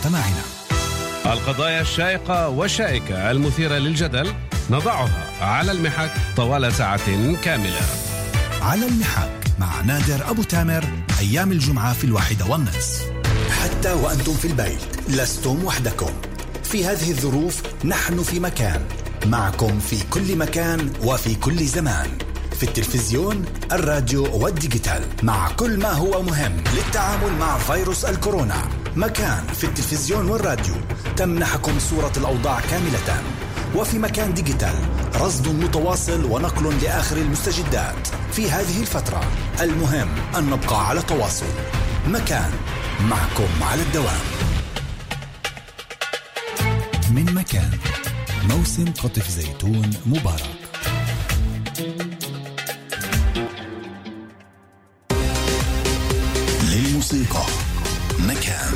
مجتمعنا. القضايا الشائقة والشائكة المثيرة للجدل نضعها على المحك طوال ساعة كاملة. على المحك مع نادر أبو تامر أيام الجمعة في 1:30. حتى وأنتم في البيت لستم وحدكم في هذه الظروف. نحن في مكان معكم في كل مكان وفي كل زمان، في التلفزيون، الراديو والديجيتال، مع كل ما هو مهم للتعامل مع فيروس الكورونا. مكان في التلفزيون والراديو تمنحكم صورة الأوضاع كاملة، وفي مكان ديجيتال رصد متواصل ونقل لآخر المستجدات في هذه الفترة. المهم أن نبقى على تواصل. مكان معكم على الدوام. من مكان، موسم قطف زيتون مبارك. للموسيقى مكان.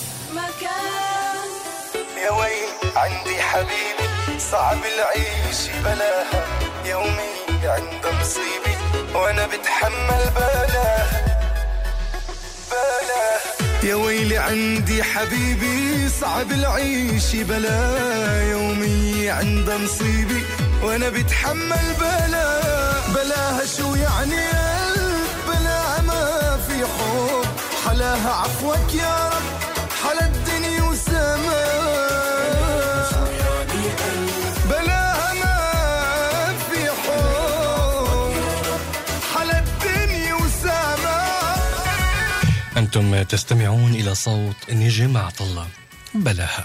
يا ويل عندي حبيبي صعب العيش بلاها، يومي عند مصيبي وانا بتحمل بلاها. يا ويلي عندي حبيبي صعب العيش بلاها، يومي عند مصيبي وانا بتحمل بلاها. شو يعني بلاها ما في حب، حلاها عفوك يا رب، حلا الدنيا وسماء. بلاها ما في حب، حلا الدنيا وسماء. أنتم تستمعون إلى صوت نجم عطلة. بلاها.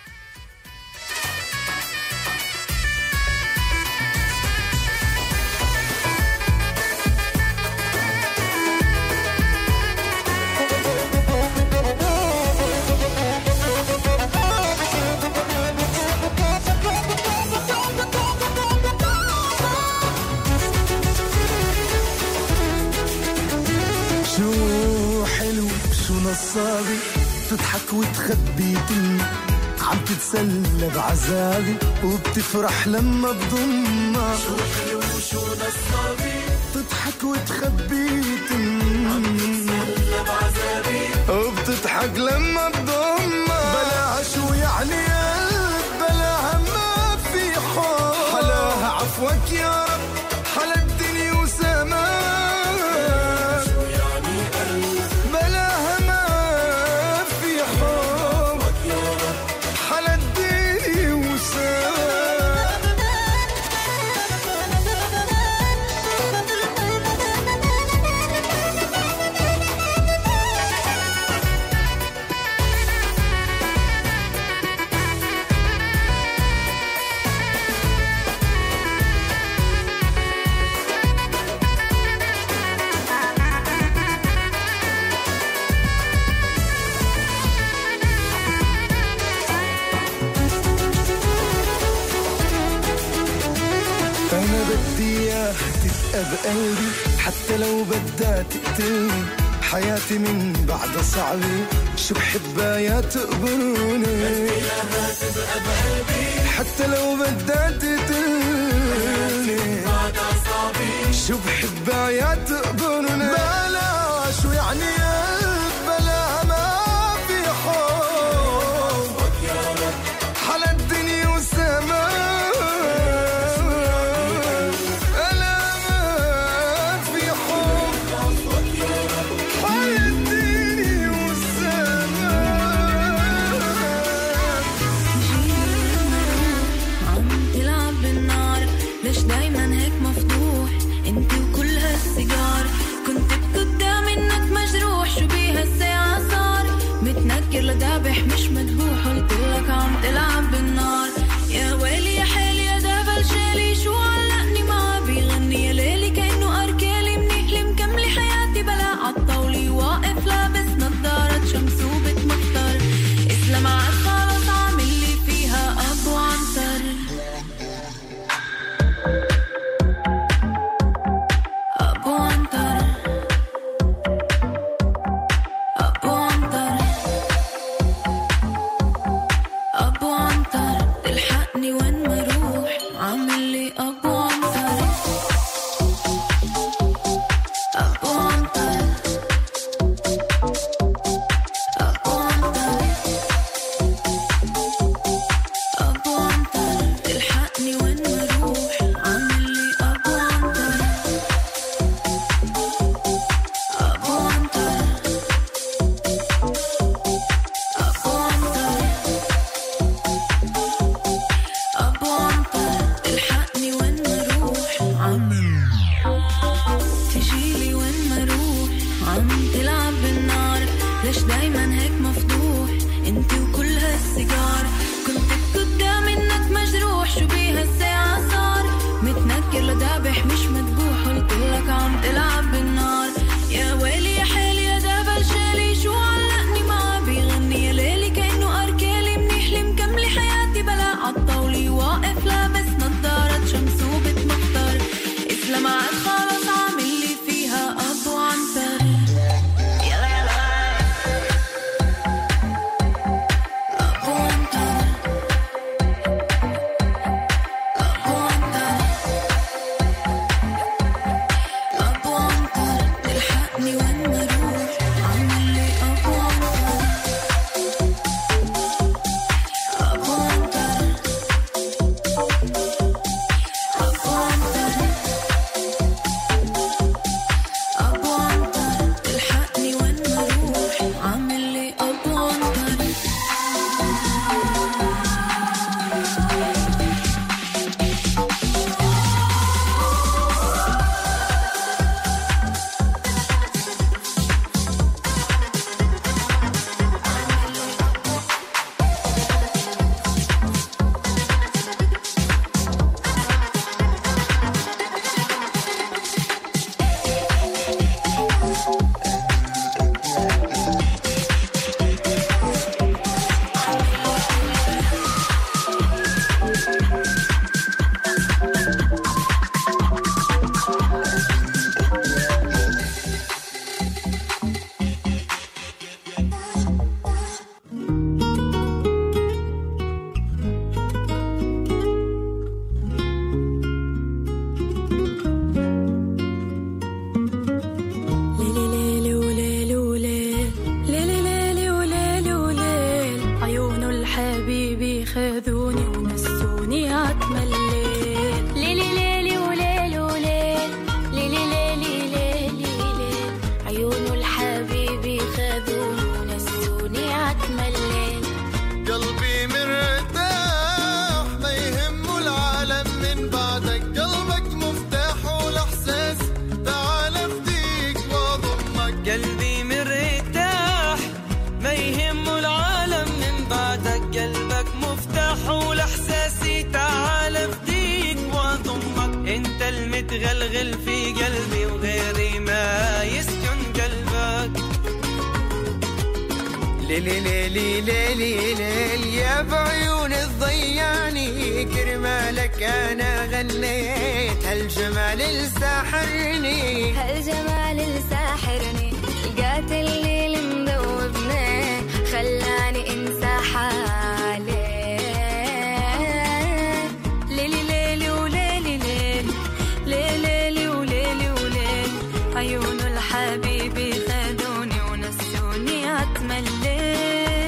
نصابي تضحك وتخبي تني، عم تتسلى بعذابي وبتفرح لما بضمها. شو حلو وشو نصابي تضحك وتخبي تني، عم تتسلى بعذابي وبتضحك لما بضمها. بلاها شو يعني بلاها ما في حب، حلاها عفوك يا رب، حلا الدنيا وسماها. بقلبي حتى لو بدها تقتلني، حياتي من بعد صعبة، شو بحبها يا تقبروني. حتى لو بدها تقتلني، شو بحبها يا تقبروني. بلا شو يعني بلا ما في حب، حلا الدنيا والسماء. مش مدبوح قلت لك عم تلعب بالنار. يا ويلي يا حالي يا دبل شالي، شو علقني معاه بيغني يا ليلي كأنه أركالي، منيحلي مكملي حياتي بلا عالطاولي، واقف لابس نظارة شمس وبتمطر، اسلام عاد خلص عامل لي فيها أبو عنتر. أبو عنتر أبو عنتر أبو عنتر، تلحقني وين ما انت وكل هالسيجار. كنت بكدة منك مجروح شو بيها الساعة صار. متنكر لدابح مش مدبوح قلتلك عم تلعب بالنار. يا ويلي يا حالي يا دابل شالي شو علقني معاه بيغني يا ليلي كأنه أركالي منيح مكملي حياتي بلا عالطاولي واقف لابس نظارة شمس وبتمطر. إسلام عاد خلص عاملي فيها أبو عنتر. تغلغل في قلبي وغيري ما يسكن قلبك. ليلي ليلي ليلي ليل يا بعيون الضياني كرمالك أنا غنيت هالجمال الساحرني هالجمال الساحرني لقيت الليل مذوبني خلاني انسى حالي. ليلي ليلي وليلي ليل ليلي وليلي وليل عيون الحبيبي خدوني ونسوني عتم الليل.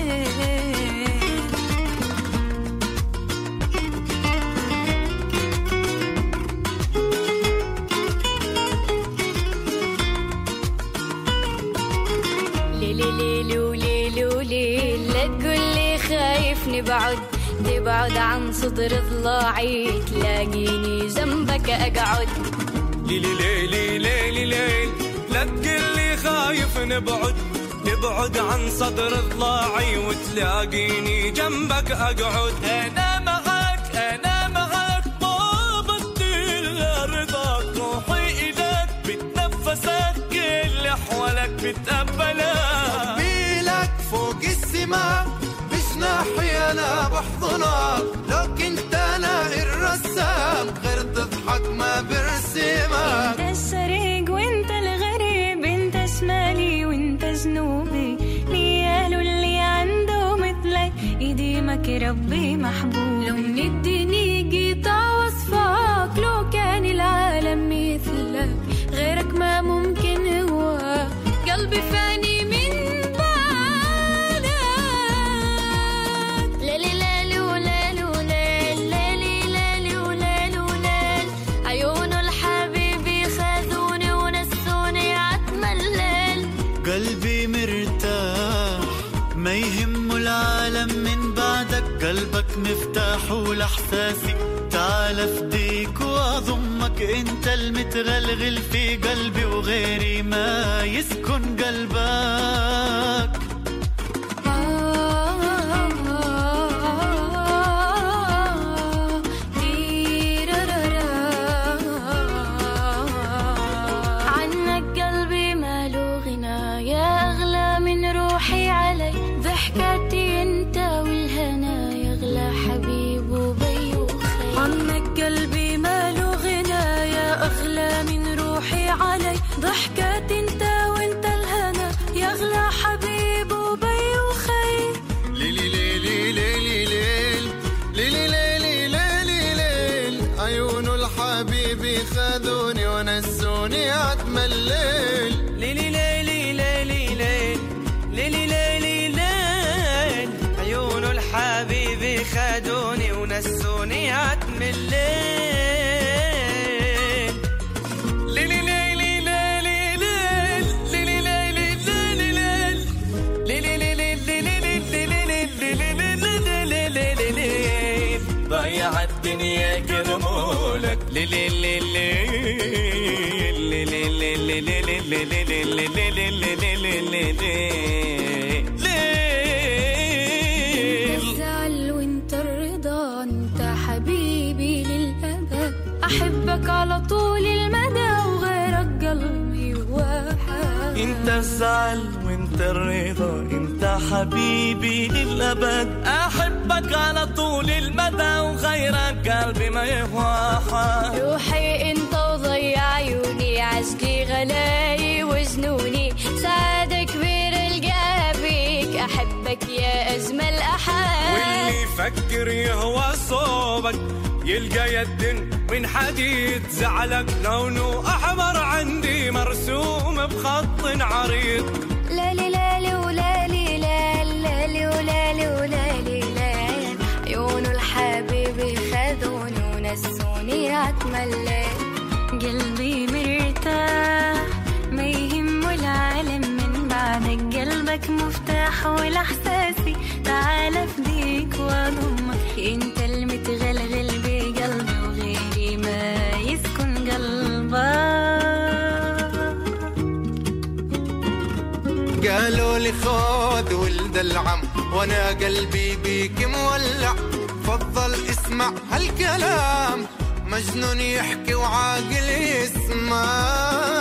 ليلي وليلي وليل لا تقولي خايفني بعد دي بعد عن صدر ضلاعي تلاقيني جنبك أقعد. ليلي ليلي ليلي ليل لا تقولي خايف نبعد نبعد عن صدر ضلاعي وتلاقيني جنبك أقعد. أنا معك ما بدي إلا رضاك روحي إليك بتنفسك كل أحوالك بتقبلك بيلك فوق السماء مش ناحية أنا بحضنك لو كنت أنا الرسام غير تضحك ما برسمك. انت الشريق وانت الغريب انت شمالي وانت جنوبي ليالو اللي عنده مثلك يديمك ربي محبوب. لو نديني قطع وصفك لو كان العالم مثلك غيرك ما ممكن هو قلبي فاني من بعدك. ليلي ليلي وليلي وليل ليلي ليلي وليلي وليل عيون الحبيبي خذوني ونسوني عتم الليل. قلبي مرتاح ما يهم العالم من بعدك قلبك مفتاح ولحساسي تعال افديك واضمك انت المتغلغل في قلبي وغيري ما يسكن قلبك. عتمة الليل ليلي ليلي ليلي ليل ليلي ليلي ليل عيون الحبيب خدوني ونسوني عتم الليل ليلي ليلي ليلي ليل ليلي ليلي ليلي ليل ليلي ليلي ليلي ضيع الدنيا كرمولك ليلي ليلي الزعل وانت الرضا انت حبيبي للأبد أحبك على طول المدى وغيرك قلبي واحد انت الزعل وانت الرضا انت حبيبي للأبد أحبك على طول المدى وغيرك قلبي ما يهواها روحي انت وضيع عيوني عشقي غلاي وجنوني سعادة كبير القابيك أحبك يا أجمل أحد واللي يفكر يهوى صوبك يلقى يد من حديد زعلك لونه أحمر عندي مرسوم بخط عريض لالي لالي ولالي لالي ولالي ولالي لالي عيون الحبيب خذوني ونسوني عتم الليل قلبي مرتاح ما يهم العالم من بعدك قلبك مفتاح والإحساسي تعال فديك وأضمك انت المتغلغل بقلبي وغيري ما يسكن قلبك قالوا لي خذ ولد العم وانا قلبي بيك مولع فضل اسمع هالكلام مجنون يحكي وعاقل يسمع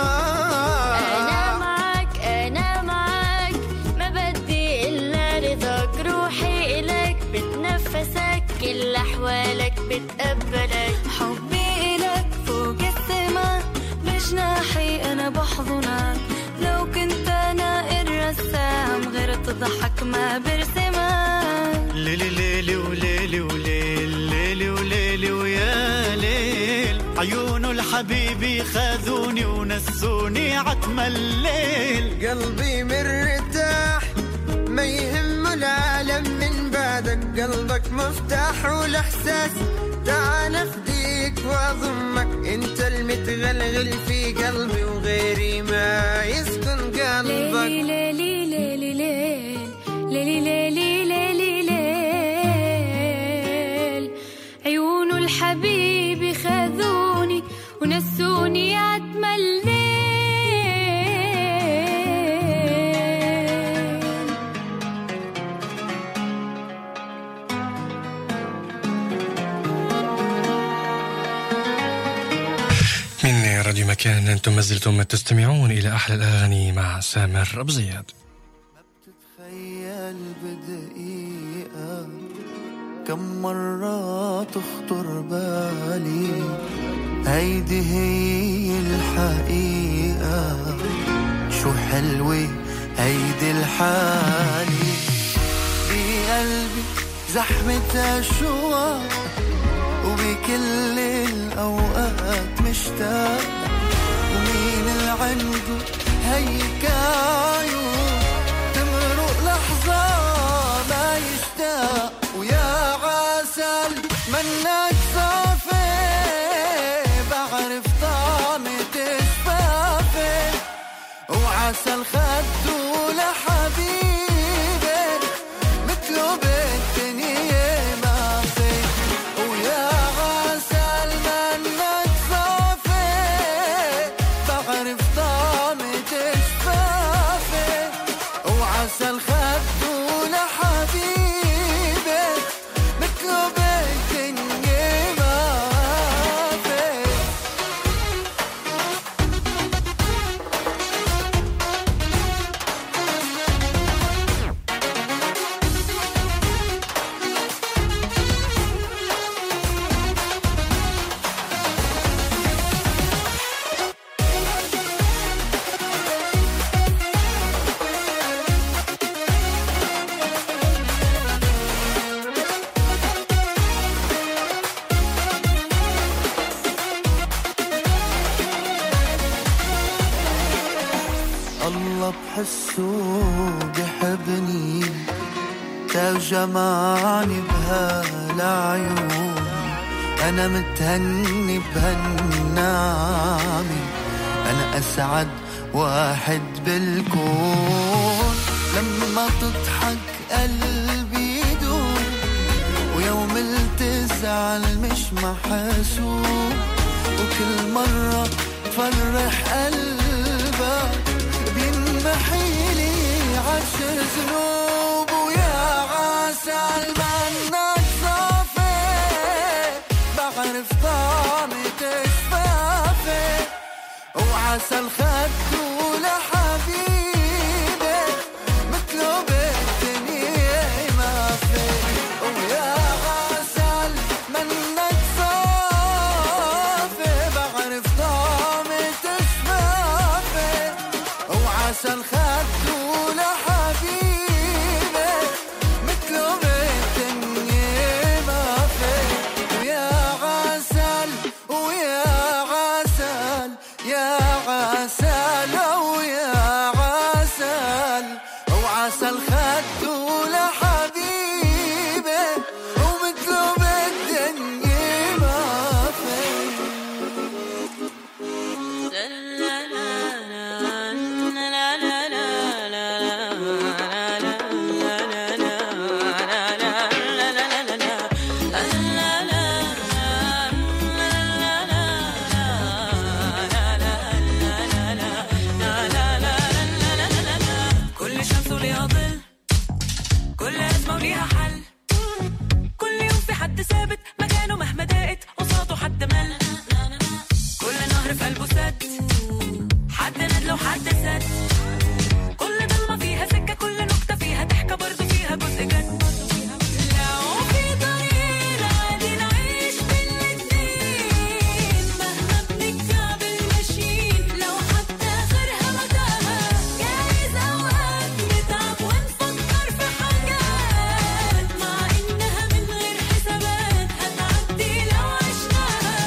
أنا معك ما بدي إلا رضاك روحي إلك بتنفسك كل أحوالك بتقبلك حبي إلك فوق السما بجناحي أنا بحضنك لو كنت أنا الرسام غير تضحك ما برسمك ليلي ليلي وليلي وليل ليلي وليلي ويا ليل عيون الحبيب خذوني ونسوني عتم الليل قلبي مرتاح ما يهم العالم من بعدك قلبك مفتاح والإحساس تعال أفديك وأضمك انت المتغلغل في قلبي وغيري ما يسكن قلبك ليلي ليلي ليلي ليلي ليلي ليلي ليل عيون الحبيب خذوني ونسوني عتم الليل من راديو مكان أنتم ما زلتم تستمعون إلى أحلى الأغاني مع سامر أبو زياد. تخيل بدقيقة كم مرة تخطر بالي هيدي هي الحقيقة شو حلوة هيدي الحالي بقلبي زحمة أشواق وبكل الأوقات مشتاق ومين اللي عنده هيك عيون تمرق لحظة ما يشتاق ويا عسل منك صافي بعرف طعمة شفافي وعسل خده لحبيبي مثله بالدنيا ما في ويا عسل منك صافي بعرف طعمة شفافي وعسل خده لحبيبي مثله بالدنيا بحسه بحبني تجمعني بهالعيون أنا متهني بهالنعمة أنا أسعد واحد بالكون لما تضحك قلبي يدوم ويوم تزعل مش محسوب وكل مرة تفرح قلبك بينمحيلي 10 ذنوب ويا عسل منك صافي بعرف طعمة شفافي وعسل خدو لحبيبي مثله بالدنيا ما في ويا عسل منك صافي بعرف طعمة شفافي وعسل خدو لحبيبي مثله بالدنيا ما في ويا عسل ويا عسل يا عسل ويا عسل وعسل خدو لحبيبي ومثله بالدنيا ما في كل شمس وليها ظل كل أزمة وليها حل كل يوم في حد ثابت مكانه مهما ضاقت قصاده حد مل كل نهر في قلبه سد حد ندل وحد سد كل ضلمة فيها سكة كل نقطة فيها ضحكة برضو فيها جزء جد لو في طريق عادي نعيش بالاتنين مهما بنكعبل ماشيين لو حتى آخرها متاهة جايز أوقات نتعب ونفكر في حاجات مع إنها من غير حسابات هتعدي لو عشناها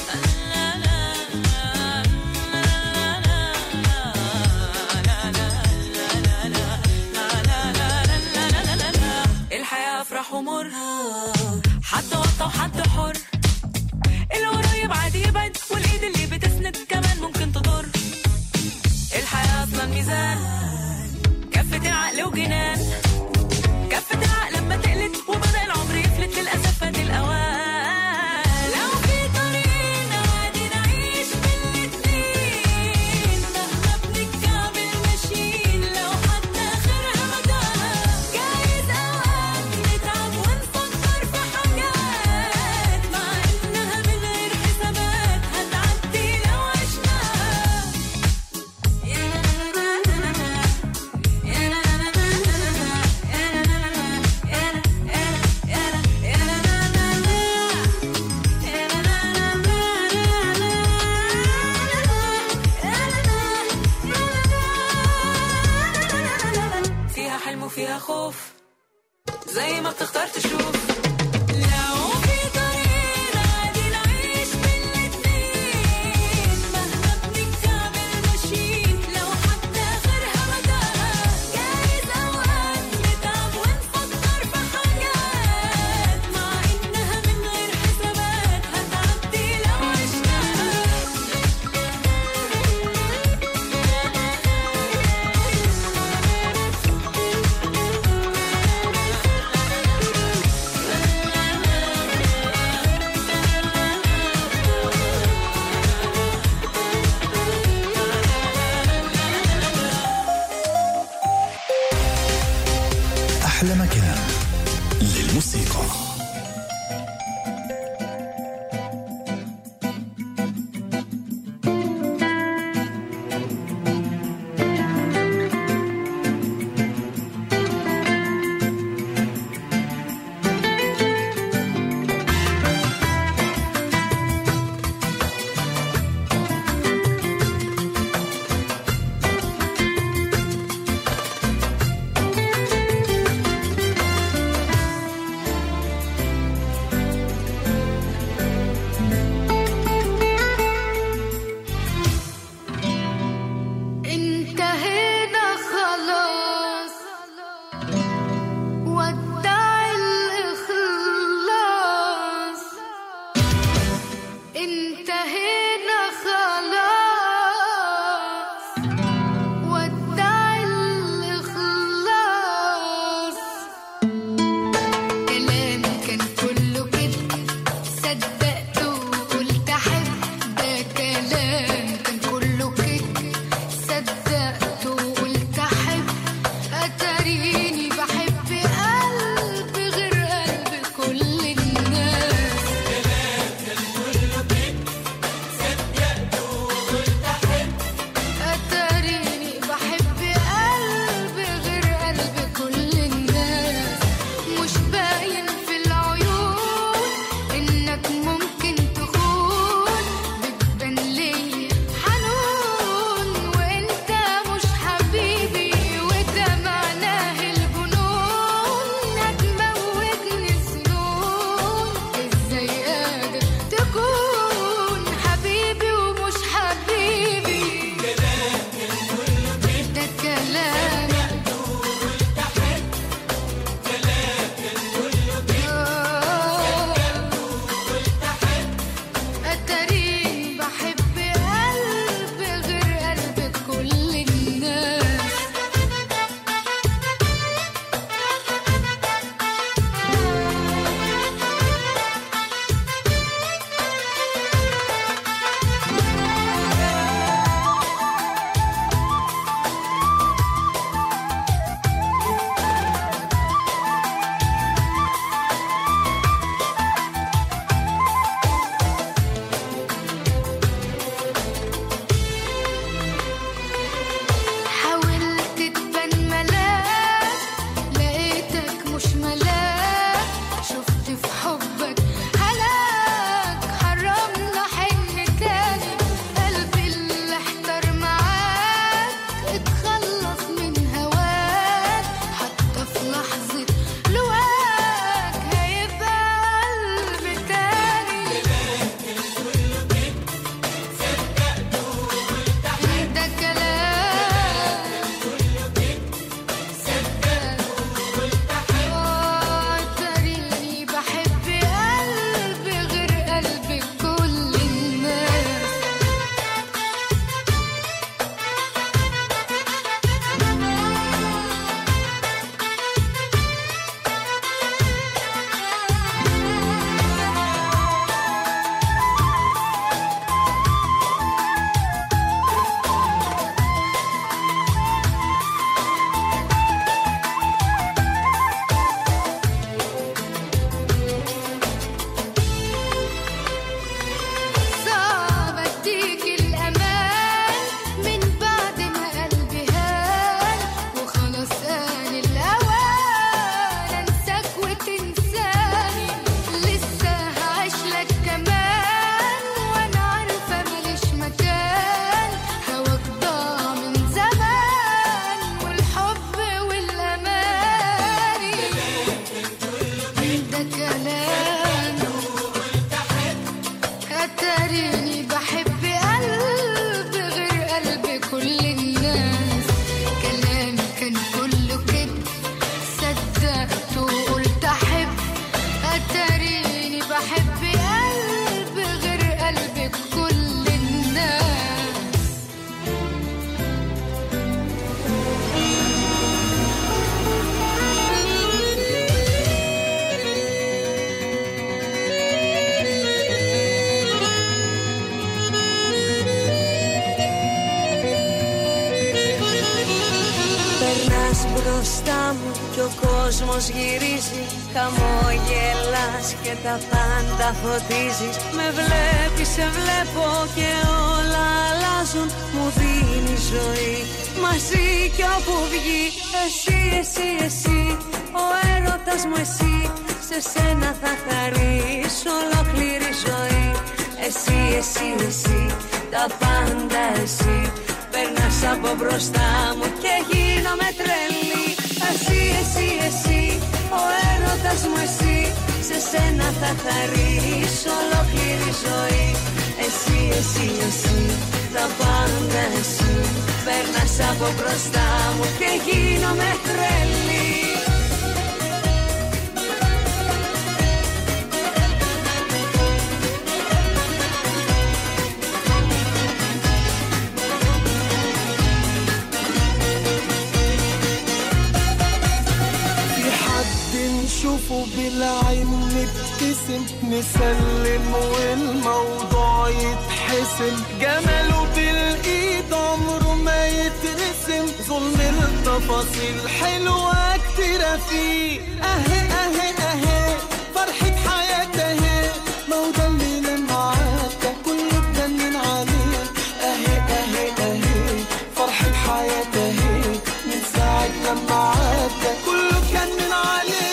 الحياة أفرح ومر حد وطى وحد حر القريب عادي يبعد والإيد اللي بتسند كمان ممكن تضر الحياة أصلا ميزان كفة العقل وجنان كفة العقل لما تقلت وبدأ العمر يفلت للأسف فات الأوان لو في طريقنا عادي نعيش بالاتنين مهما بنكعبل ماشيين لو حتى آخرها متاهة جايز أوقات نتعب ونفكر في حاجات مع إنها من غير حسابات هتعدي لو عشناها فيها حلم وفيها خوف زي ما بتختار تشوف لو في طريق عادي نعيش بالاتنين مهما بنكعبل ماشيين لو حتى آخرها متاهة جايز أوقات نتعب ونفكر في حاجات مع إنها من غير حسابات هتعدي لو عشناها أحلى مكان للموسيقى. كلام أتريني بحب قلب غير قلب كل الناس كلامي كان كله كده صدقت وقلت أحب أتريني بحب قلب غير قلب كل الناس Μπροστά μου κι ο κόσμος γυρίζει, χαμογελάς και τα πάντα φωτίζεις. Με βλέπεις, σε βλέπω και όλα αλλάζουν. Μου δίνει ζωή μαζί κι όπου βγει. Εσύ, εσύ, εσύ, ο έρωτας μου εσύ. Σε σένα θα χαρείς ολόκληρη ζωή. Εσύ, εσύ, εσύ, τα πάντα εσύ. Περνάς από μπροστά μου και γίνομαι τρελή. Εσύ, εσύ, εσύ, ο έρωτας μου εσύ. Σε σένα θα χαρείς ολόκληρη ζωή. Εσύ, εσύ, εσύ, τα πάντα εσύ. Περνάς από μπροστά μου και γίνομαι τρελή. نشوفه بالعين نبتسم نسلم والموضوع يتحسم جماله بالإيد عمره ما يترسم ظلم التفاصيل حلوة كتيرة فيه أهي أهي أهي فرحة حياته أهي موضوع اللي لما عادة كله اتجنن عليه أهي أهي أهي فرحة حياته أهي من ساعة لما عادة كله اتجنن عليه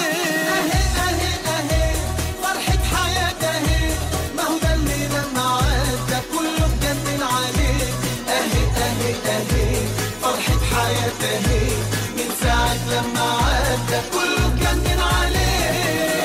فرحة حياته من ساعة لما عدى كله كان عليه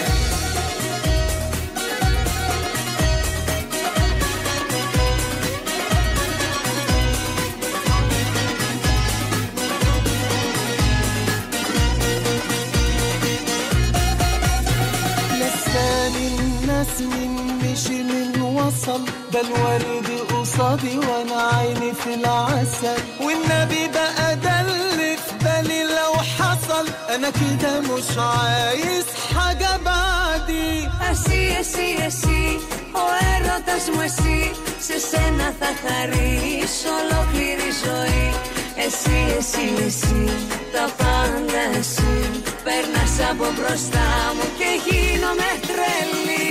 لساني الناس من مشي من وصل ده الورد قصادي وانا عيني في العسل والنبي بقى ده اللي في بالي لو حصل انا كده مش عايز حاجة بعدي Εσύ, εσύ, εσύ, ο έρωτας μου εσύ. Σε σένα θα χαρείς ολόκληρη ζωή. Εσύ, εσύ, εσύ, τα πάντα εσύ. Περνάς από μπροστά μου και γίνομαι τρελή.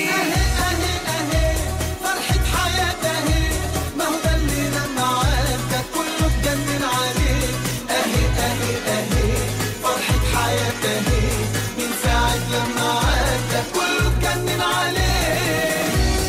من ساعة لما عدى كله اتجنن عليه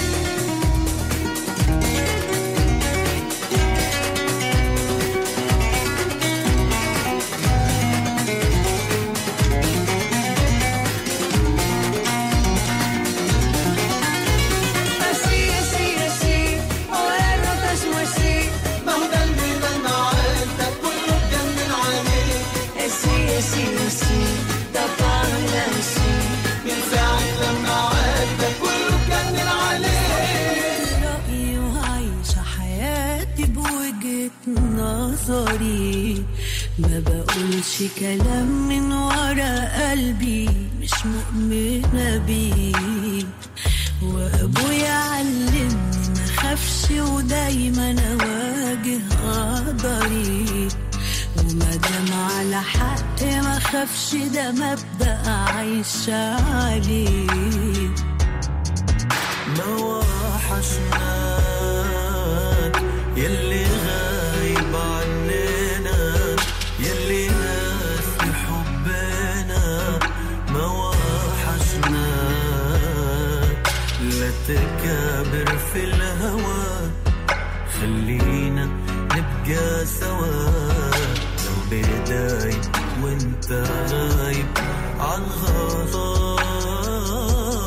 Εσύ, εσύ, εσύ, ο έρωτας μου εσύ. ما هو ده اللي لما عدى كله اتجنن عليه Εσύ, εσύ, εσύ, τα πάντα εσύ. من ساعة لما عدى كله كان عليه رأيي وعايشة حياتي بوجهة نظري ما بقولش كلام من ورا قلبي مش مؤمنة بيه وأبويا علمني ما خافش ودايما أواجه قدري ومادام على حق ما خافش ده مبدأ عايشة عليه ما وحشناك يلي غايب عننا يلي ناسي حبنا ما وحشناك لا تكابر في الهوى خلينا نبقى سوا لو بداي وانت غايب عن غضب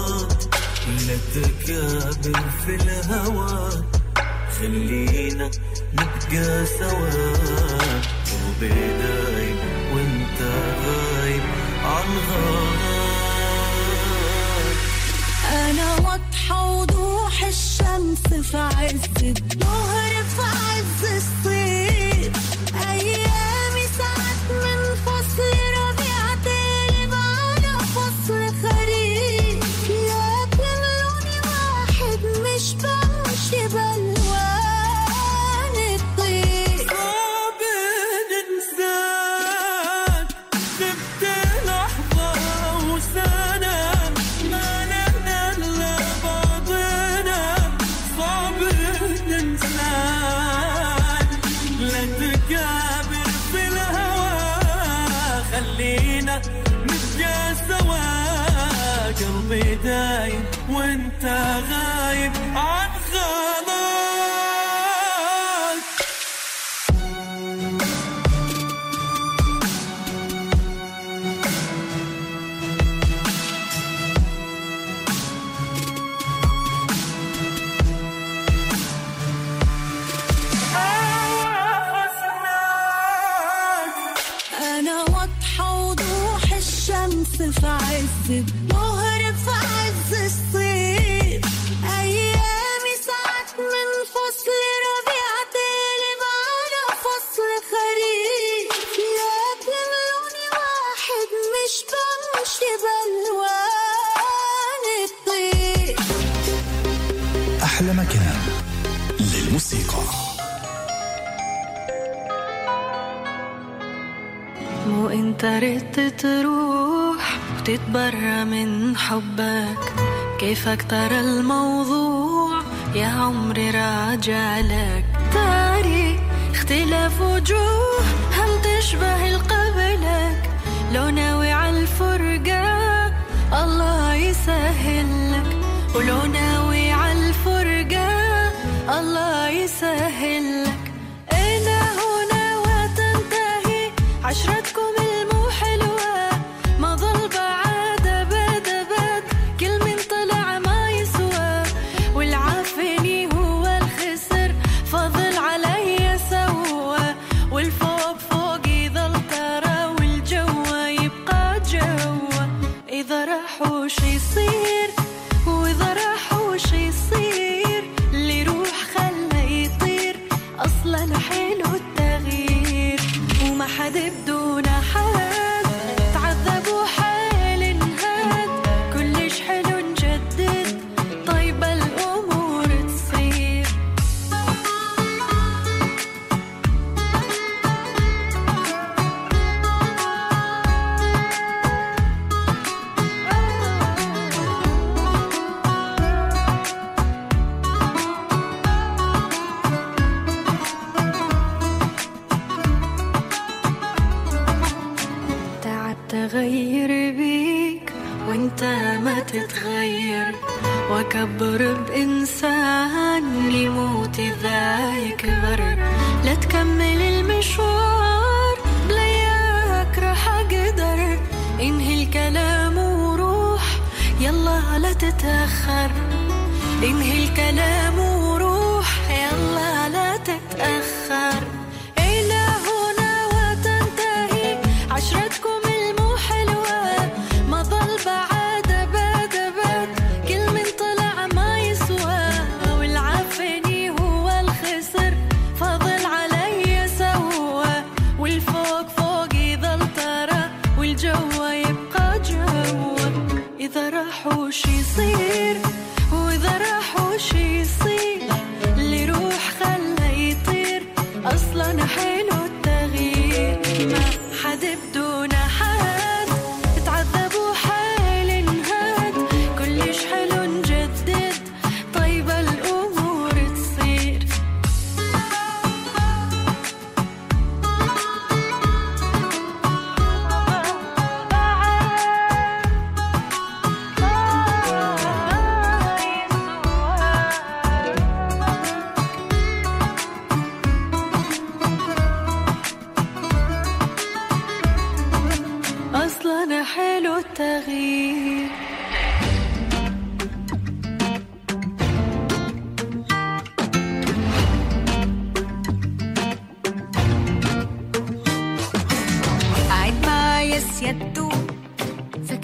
تكابر في الهوى خلينا نبقى سوا قلبي دايم وانت غايب عن غار أنا واضحة وضوح الشمس في عز الظهر في عز الصيف أيامي ساعات من فصل ربيع تقلب على فصل خريف لكن لوني واحد مش بمشي بألوان الطيف صعب ننساك غبت لحظة وسنة ما لنا إلا بعضنا صعب ننساك لا تكابر في الهوى خلينا نبقى سوا قلبي دايم وانت غايب عن خلاص أنا واضحة وضوح الشمس في عز الظهر في عز الصيف أيامي ساعات من فصل ربيع تقلب على فصل خريف لكن لوني واحد مش بمشي بألوان الطيف أحلى مكان للموسيقى. مو انت ريت تروح وتتبرى من حبك كيفك ترى الموضوع يا عمري راجع لك تاري اختلاف وجوه هم تشبه القبلك لو ناوي عالفرقة الله يسهل لك ولو ناوي عالفرقة الله يسهل لك إلى هنا وتنتهي عشرتكم المحلوة ما ظل بعد أبد أبد كل من طلع ما يسوى والعافني هو الخسر فضل علي سوى والفوق فوق يظل ترى والجو يبقى جوا إذا راح وش يصير وإذا راح وش يصير اللي روح خلى يطير أصلا حلو التغيير وما حد بدون حد تعذب وحال انهاد كلش حلو نجدد طيب الأمور تصير تعبت أغير بيك وانت ما تتغير واكبر بإنسان يموت إذا يكبر لا تكمل المشوار بلياك راح أقدر انهي الكلام وروح يلا لا تتأخر انهي الكلام وروح يلا لا تتأخر إلى هنا وتنتهي عشرتكم المحلوة ما ظل بعد أبد أبد كل من طلع ما يسوى والعافني هو الخسر فضل علي سوى والفوق فوق يظل ترى والجو يبقى جوا إذا راح وش يصير وإذا راح وش يصير اللي روح خلى يطير أصلا حلو التغيير ما حد بدون حد تعذب وحال انهاد كلش حلو نجدد طيب الأمور تصير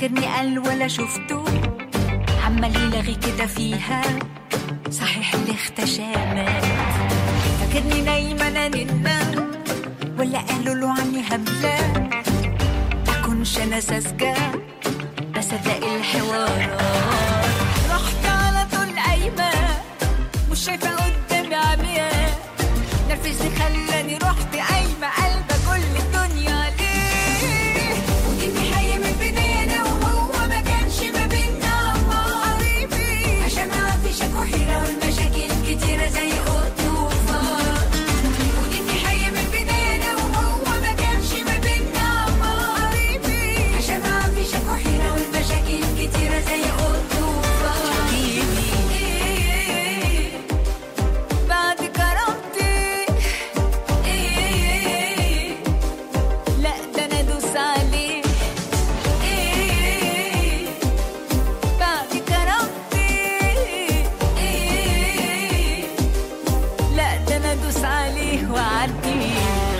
فاكرني قال ولا شفته عمال يلغي كده فيها صحيح اللي اختشامات فاكرني نايمة أنا ننام ولا قالوا له عني هبلة أكونش أنا ساذجة بصدق الحوارات رحت على طول قايمة مش شايفة قدامي عمياء نرفزني خلاني رحت قايمة قلبة كل الدنيا ليه وديني حي من بداية وهو ما كانش ما بينا قريبي عشان ما فيش وحيرة والمشاكل كتيرة زي قط وفار وديني حي من بداية وهو ما كانش ما بينا قريبي عشان ما فيش وحيرة والمشاكل كتيرة زي قط وفار بعد كرامتي لا ده انا ادوس عليه بعد كرامتي لا ده انا ادوس عليه واعديه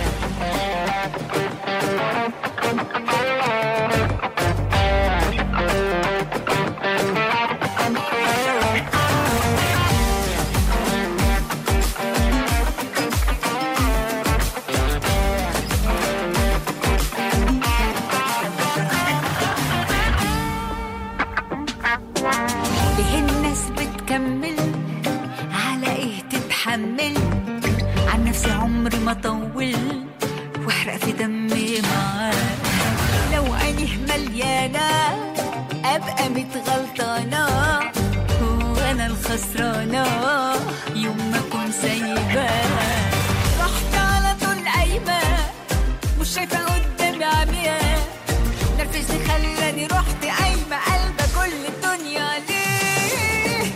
ليه الناس بتكمل على ايه تتحمل عن نفسي عمري ما طول واحرق في دمي معاه لو عينيه مليانة ابقى متغلطانة وانا الخسرانة يوم ما اكون سايباه رحت على طول قايمة مش شايفة قدامي عمياء نرفزني خلاني رحت قايمة قلبة كل الدنيا ليه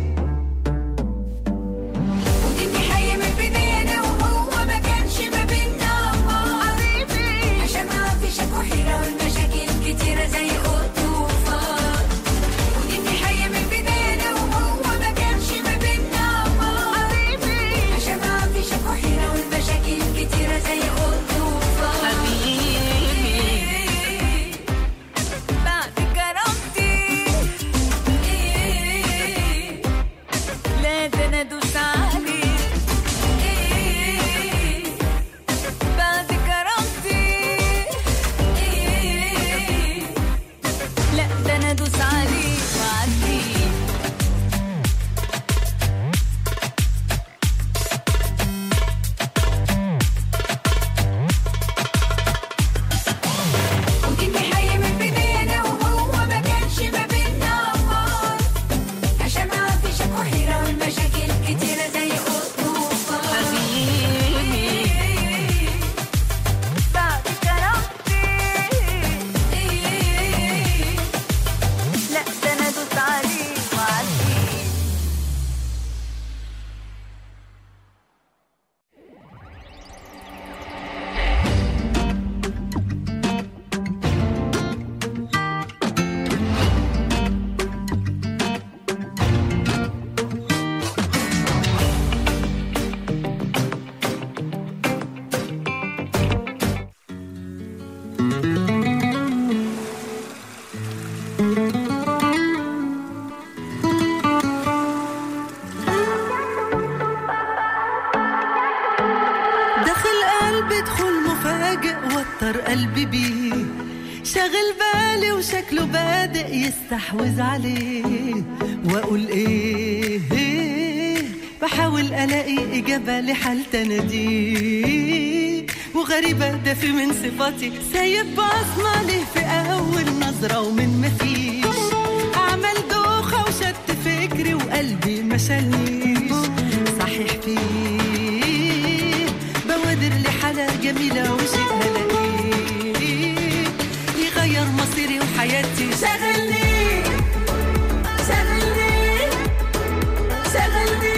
وديني حي من بداية وهو ما كانش ما بينا قريبي عشان ما فيش وحيرة والمشاكل كتيرة زي قط وفار وديني حي من بداية وهو ما كانش ما بينا قريبي عشان ما فيش وحيرة والمشاكل كتيرة زي قط وفار حبيبي بعد كرامتي لا ده انا ادوس عليه بعد كرامتي لا ده انا ادوس عليه واعديه وديني حي من بداية وهو ما كانش ما بينا عشان ما فيش وحيرة والمشاكل كتيرة زي قط وفار حبيبي بعد كرامتي لا ده انا ادوس عليه واعديه دخل قلبي دخول مفاجئ وتر قلبي بيه شغل بالي وشكله بادئ يستحوذ عليه واقول ايه بحاول الاقي اجابه لحال تناديه وغريبه ده في من صفاتي سايب بصمه ليه في اول نظره ومن مفيش عمل دوخه وشت فكري وقلبي ما شالنيش صحيح فيه بوادر لحالة جميلة وشيء هلاقيه يغير مصيري وحياتي شغلني شغلني شغلني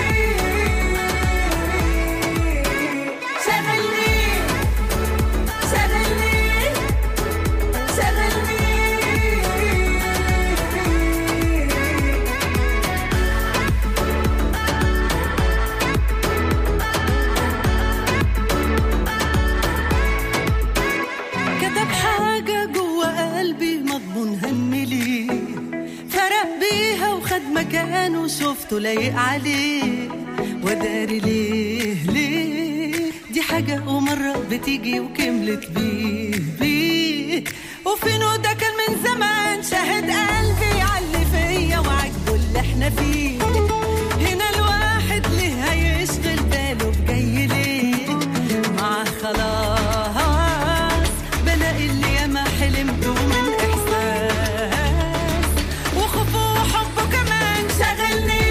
شغلني شغلني شغلني فيها وخد مكانه وشوفته لايق عليه وداري ليه دي حاجة ومرة بتيجي وكملت بيه وفينه ده كان من زمان شاهد قلبي عاللي فيا وعجبه اللي احنا فيه هنا الواحد ليه هيشغل باله بجاي ليه معاه خلاص بلاقي اللي ياما حلمته من إحساس وخوفه وحبه كمان شغلني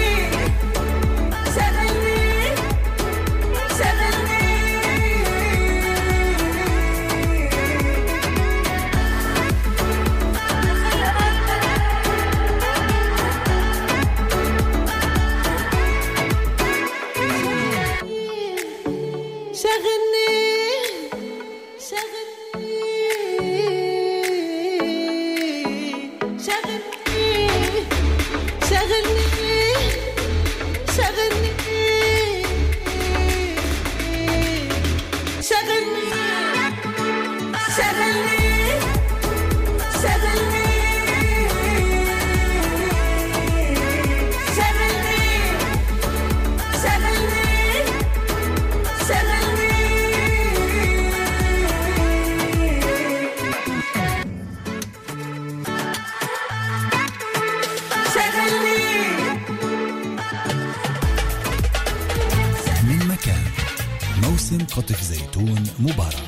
قطف زيتون مبارك.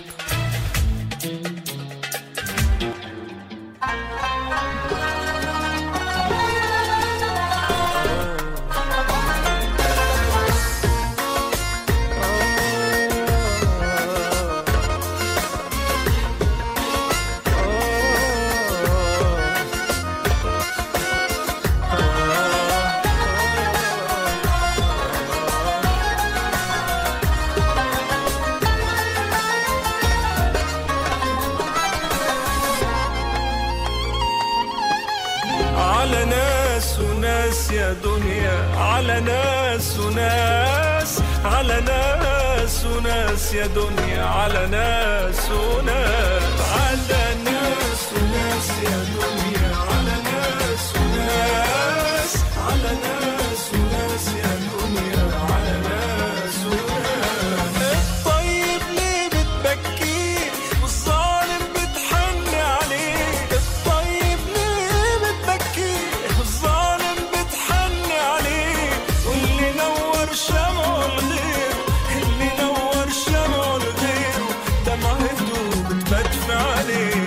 يا دنيا على ناس وناس على ناس وناس يا دنيا على ناس وناس على ناس وناس يا دنيا على ناس وناس على ناس وناس يا دنيا على ناس وناس. الطيب ليه بتبكيه والظالم بتحن عليه الطيب ليه بتبكيه والظالم بتحن عليه واللي نور شمعه الغير اللي نور شمعه الغير دمعته بتبدفع عليه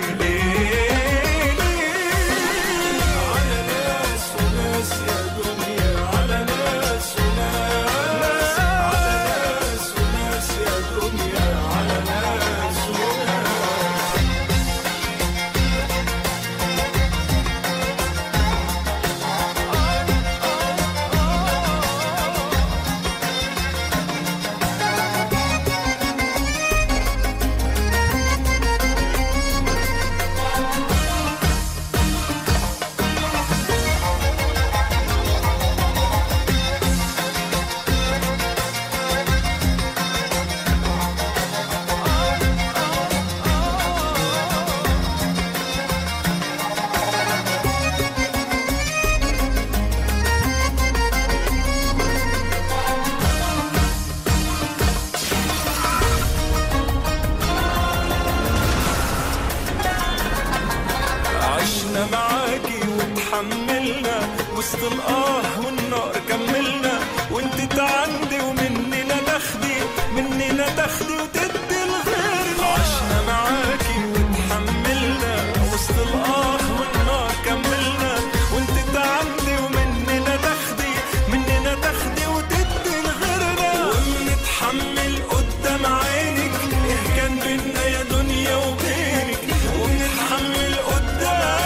معاكي وتحملنا وسط الآه والنار كملنا وانت تعندي ومننا تاخدي وتدي الغير. عشنا معاكي وتحملنا وسط الآه والنار كملنا وانت تعندي ومننا تاخدي وتدي الغيرنا وبنتحمل قدام عينك ايه كان بينا يا دنيا وبينك وبنتحمل قدام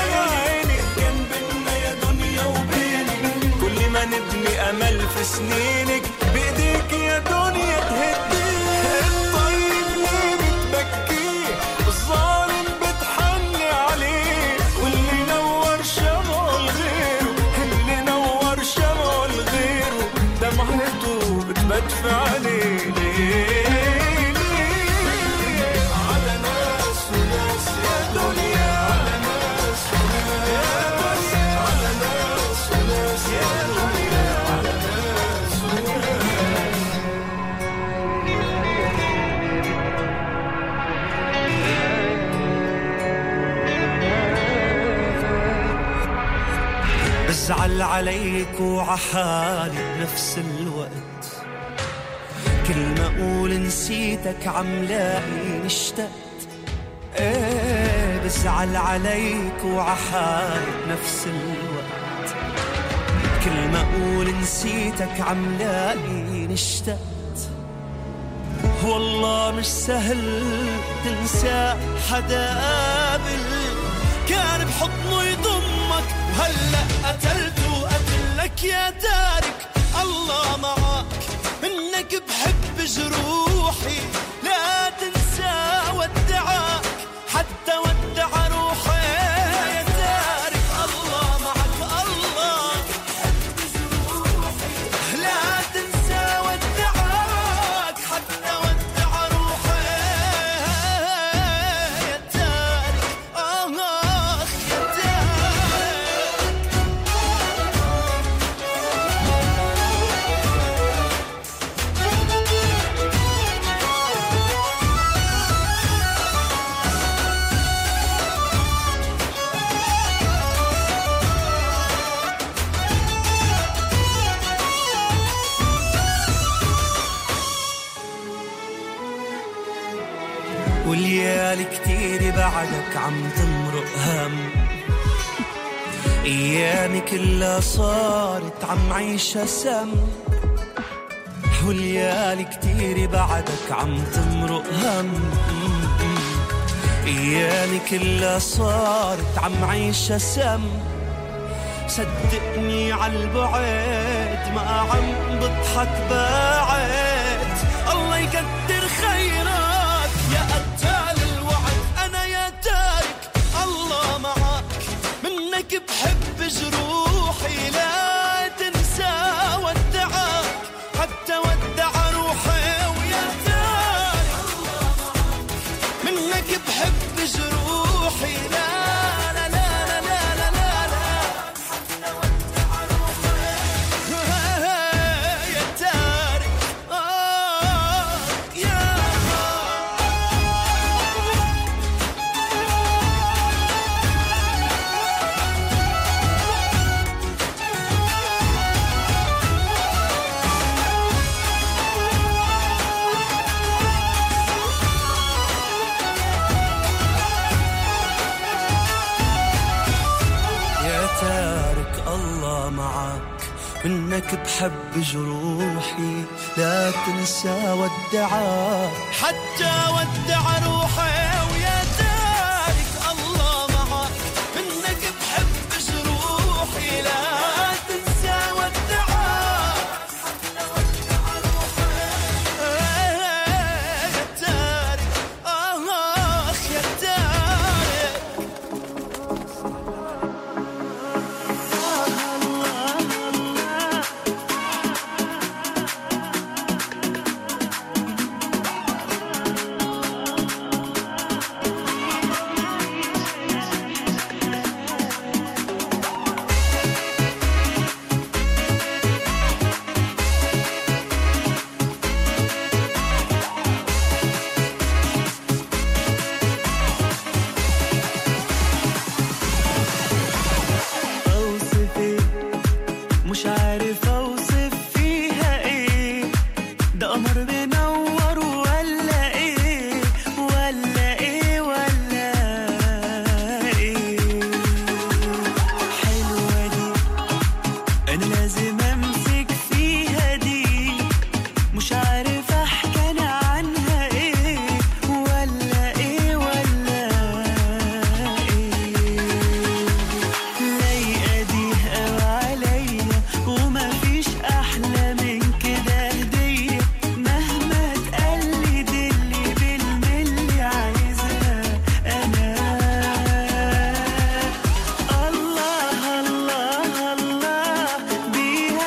نبني أمل في سنينك بإيديك يا دنيا تهديه. الطيب ليه بتبكيه والظالم بتحني عليه واللي نور شمعه الغيره اللي نور شمعه الغيره دمعته بتبدفع عليه ليه على ناس وناس يا دنيا على ناس وناس على ناس وناس بزعل عليك وعحالي بنفس الوقت، كل ما اقول نسيتك عم لاقي اشتقت. ايه بزعل عليك وعحالي بنفس الوقت، كل ما اقول نسيتك عم لاقي اشتقت. والله مش سهل تنسى حدا قابل كان بحضنه يضمك، وهلأ قتلته قتلك يا تارك. الله معك منك بحب جروحي، لا تنسى ودعك حتى ودع روحي يا تارك. الله معك الله لا تنسى ودعك حتى ودع روحي يا تارك. يا تارك والليالي كتير بعدك عم تمرق هم، ايامي كلها صارت عم عيشها سم. والليالي كتير بعدك عم تمرق هم، ايامي كلها صارت عم عيشها سم. صدقني عالبعد ما عم بضحك بعد، الله يقدر خيرك يا قتال الوعد. أنا يا تارك الله معك منك بحب جروحي، لا تنسى ودعك حتى ودع روحي. ويا تارك منك بحب جروحي، لا لا لا لا لا لا لا حتى ودع روحي يا تارك. يا تارك الله معك منك بحب جروحي، لا تنسى ودعك حتى ودع روحي. ويا تارك الله معك منك بحب جروحي، لا تنسى ودعك حتى ودع روحي يا تارك. يا تارك مش عارف اوصف فيها ايه، ده قمر منور ولا ايه ولا ايه ولا ايه. حلوة دي انا لازم امسك فيها دي، مش عارف احكي انا عنها ايه ولا ايه ولا ايه. لايقة دي قوي عليا وما فيش احلى من كده هدية، مهما تقلد اللي بالملي عايزها انا. الله الله الله بيها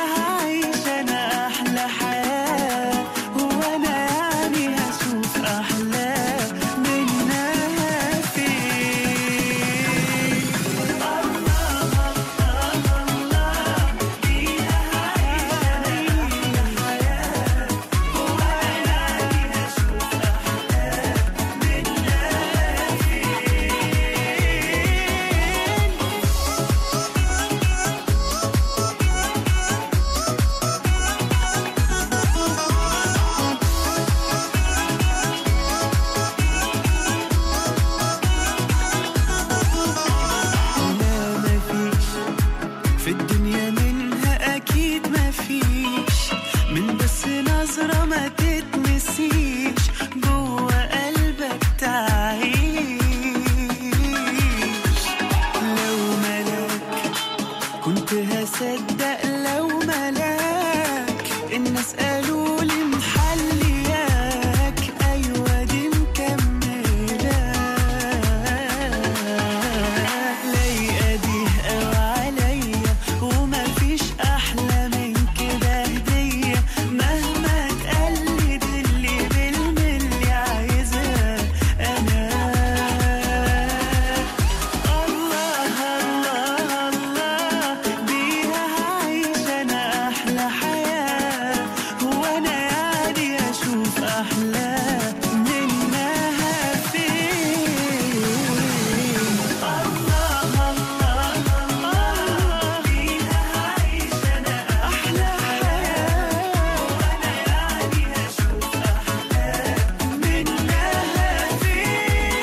لو ملاك الناس قالوا لي محلياك، أيوة دي مكملة لايقة دي أو عليا، ومفيش أحلى من كده هدية، مهما تقلد اللي بالملي عايزها أنا. الله الله الله بيها هعيش أنا أحلى حياة، وأنا يعني أشوف أحلى منها فين. الله الله الله بيها هعيش أنا أحلى حياة، وأنا يعني أشوف أحلى منها فين.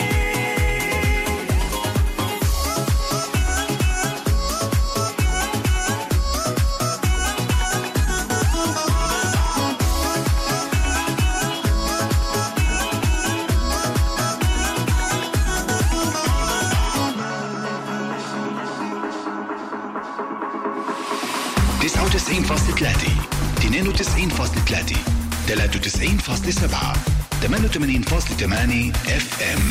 99.3 92.3 93.7 88.8 FM.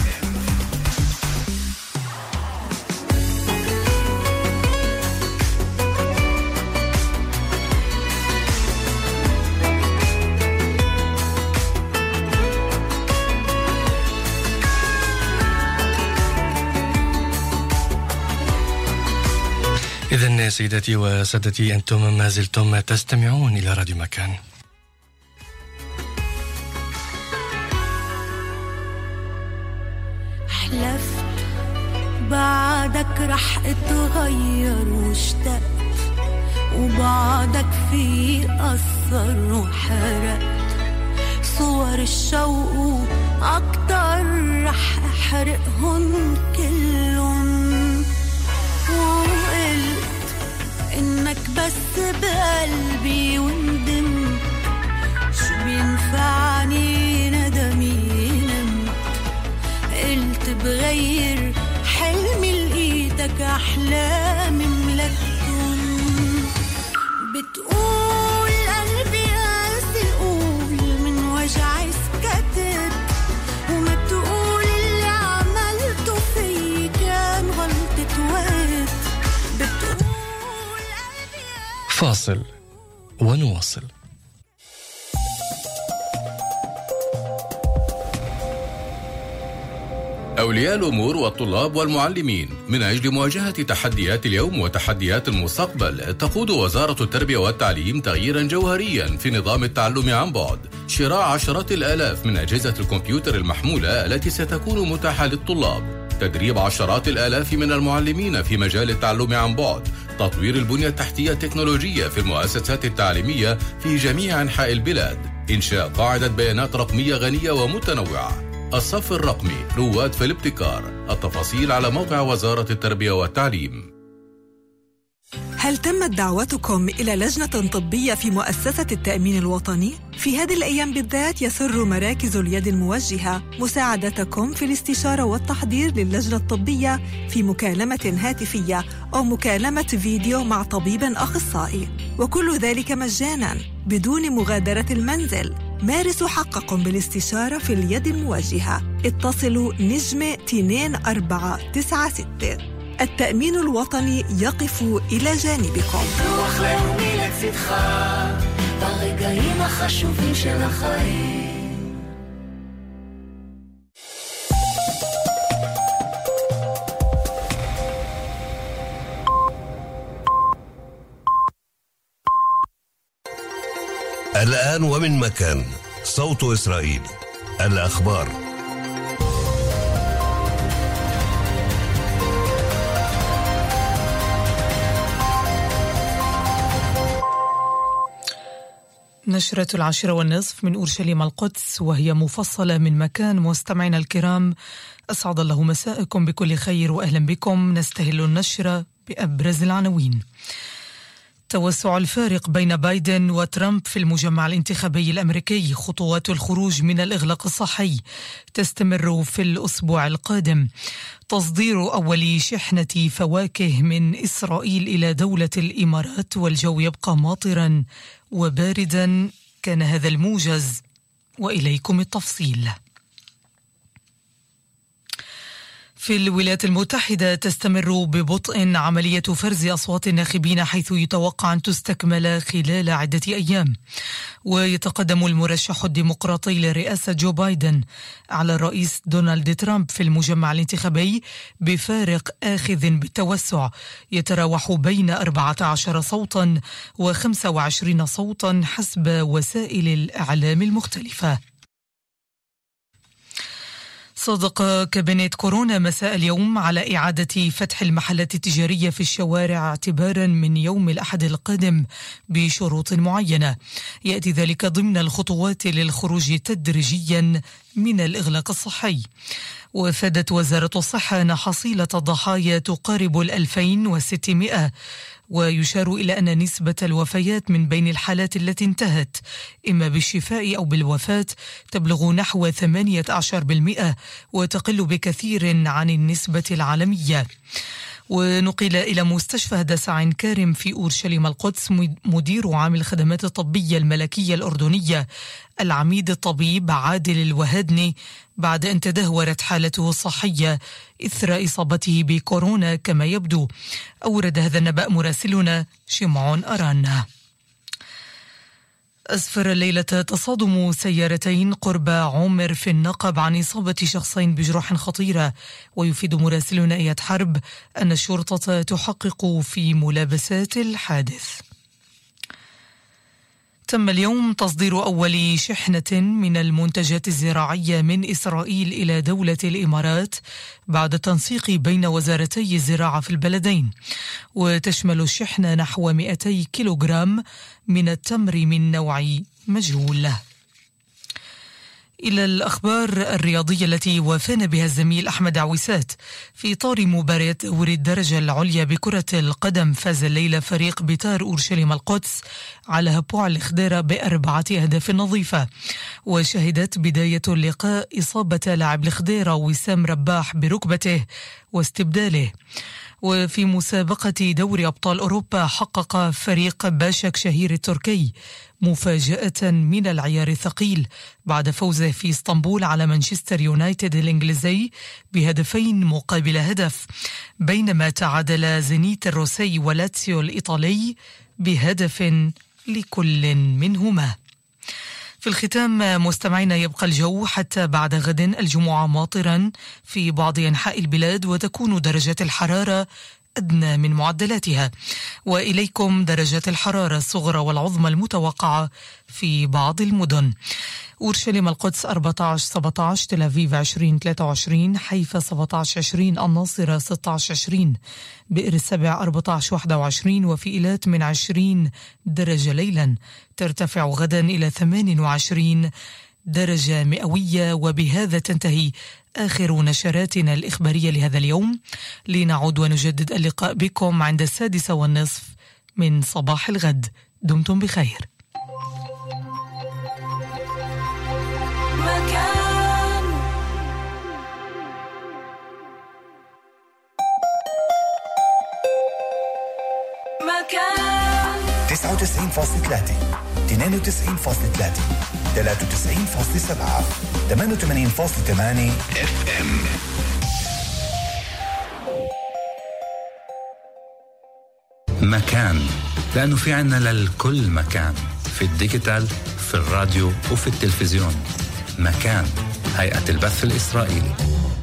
إذن سيداتي وسادتي أنتم ما زلتم تستمعون إلى راديو مكان. حلفت بعدك رح اتغير واشتقت، وبعدك في أثر وحرقت صور الشوق أكتر، رح أحرقهن كلهم، وقلت إنك بس بقلبي وندمت، شو بينفعني ندمي نمت، قلت بغير حلمي لقيتك أحلامي ملكتهم، بتقول قلبي قاسي، قول من وجعي سكتت، وما بتقول اللي عملته فيي كان غلطة وقت، بتقول فاصل ونواصل. أولياء الأمور والطلاب والمعلمين، من أجل مواجهة تحديات اليوم وتحديات المستقبل، تقود وزارة التربية والتعليم تغييرا جوهريا في نظام التعلم عن بعد، شراء عشرات الآلاف من أجهزة الكمبيوتر المحمولة التي ستكون متاحة للطلاب، تدريب عشرات الآلاف من المعلمين في مجال التعلم عن بعد، تطوير البنية التحتية التكنولوجية في المؤسسات التعليمية في جميع أنحاء البلاد، إنشاء قاعدة بيانات رقمية غنية ومتنوعة، الصف الرقمي رواد في الابتكار. التفاصيل على موقع وزارة التربية والتعليم. هل تمت دعوتكم إلى لجنة طبية في مؤسسة التأمين الوطني؟ في هذه الأيام بالذات يسر مراكز اليد الموجهة مساعدتكم في الاستشارة والتحضير للجنة الطبية في مكالمة هاتفية أو مكالمة فيديو مع طبيب أخصائي، وكل ذلك مجاناً بدون مغادرة المنزل. مارسوا حقكم بالاستشارة في اليد الموجهة. اتصلوا نجمة 2496. التأمين الوطني يقف إلى جانبكم. רוח לאומי לצדך, ברגעים החשובים של החיים. الآن ومن مكان، صوت إسرائيل، الأخبار. نشرة 10:30 من أورشليم القدس، وهي مفصلة من مكان. مستمعينا الكرام، أسعد الله مساءكم بكل خير وأهلا بكم. نستهل النشرة بأبرز العناوين. توسع الفارق بين بايدن وترامب في المجمع الانتخابي الأمريكي. خطوات الخروج من الإغلاق الصحي تستمر في الأسبوع القادم. تصدير أول شحنة فواكه من إسرائيل إلى دولة الإمارات، والجو يبقى ماطرا وباردا. كان هذا الموجز، وإليكم التفصيل. في الولايات المتحدة تستمر ببطء عملية فرز أصوات الناخبين، حيث يتوقع أن تستكمل خلال عدة أيام. ويتقدم المرشح الديمقراطي لرئاسة جو بايدن على الرئيس دونالد ترامب في المجمع الانتخابي بفارق آخذ بالتوسع يتراوح بين 14 صوتا و25 صوتا حسب وسائل الإعلام المختلفة. صادق كابينت كورونا مساء اليوم على إعادة فتح المحلات التجارية في الشوارع اعتبارا من يوم الأحد القادم بشروط معينة. يأتي ذلك ضمن الخطوات للخروج تدريجيا من الإغلاق الصحي. وفادت وزارة الصحة أن حصيلة الضحايا تقارب 2600، ويشار إلى أن نسبة الوفيات من بين الحالات التي انتهت إما بالشفاء أو بالوفاة تبلغ نحو 18%، وتقل بكثير عن النسبة العالمية. ونقل إلى مستشفى هدسة عين كارم في أورشليم القدس مدير عام الخدمات الطبية الملكية الأردنية العميد الطبيب عادل الوهادني بعد أن تدهورت حالته الصحية إثر إصابته بكورونا كما يبدو. أورد هذا النبأ مراسلنا شمعون أرانا. أسفر الليلة تصادم سيارتين قرب عمر في النقب عن إصابة شخصين بجروح خطيرة. ويفيد مراسلنا إياد حرب أن الشرطة تحقق في ملابسات الحادث. تم اليوم تصدير أول شحنة من المنتجات الزراعية من إسرائيل إلى دولة الإمارات بعد التنسيق بين وزارتي الزراعة في البلدين. وتشمل الشحنة نحو 200 كيلوغرام من التمر من نوع مجهول. إلى الأخبار الرياضية التي وافانا بها الزميل أحمد عويسات. في إطار مباريات دوري الدرجة العليا بكرة القدم، فاز الليلة فريق بيتار أورشليم القدس على هبوع الخضيرة ب4 أهداف نظيفة. وشهدت بداية اللقاء إصابة لاعب الخضيرة وسام رباح بركبته واستبداله. وفي مسابقة دوري أبطال أوروبا حقق فريق باشك شهير التركي مفاجأة من العيار الثقيل بعد فوزه في اسطنبول على مانشستر يونايتد الإنجليزي بهدفين مقابل هدف، بينما تعادل زينيت الروسي ولاتسيو الإيطالي بهدف لكل منهما. في الختام مستمعينا، يبقى الجو حتى بعد غد الجمعة ماطرا في بعض أنحاء البلاد، وتكون درجات الحرارة أدنى من معدلاتها. وإليكم درجات الحرارة الصغرى والعظمى المتوقعة في بعض المدن: أورشليم القدس 14-17، تل أبيب 20-23، حيفا 17-20، الناصرة 16-20، بئر السبع 14-21، وفي إيلات من 20 درجة ليلا، ترتفع غدا إلى 28 درجة مئوية. وبهذا تنتهي آخر نشراتنا الإخبارية لهذا اليوم. لنعود ونجدد اللقاء بكم عند 6:30 من صباح الغد. دمتم بخير. مكان 99.3 92.3 93.7 88.8 FM. مكان، لأنه في عنا للكل مكان، في الديجيتال، في الراديو وفي التلفزيون. مكان، هيئة البث الإسرائيلي.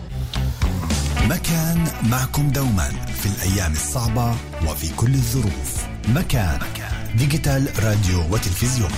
مكان معكم دوما في الأيام الصعبة وفي كل الظروف. مكان ديجيتال، راديو وتلفزيون.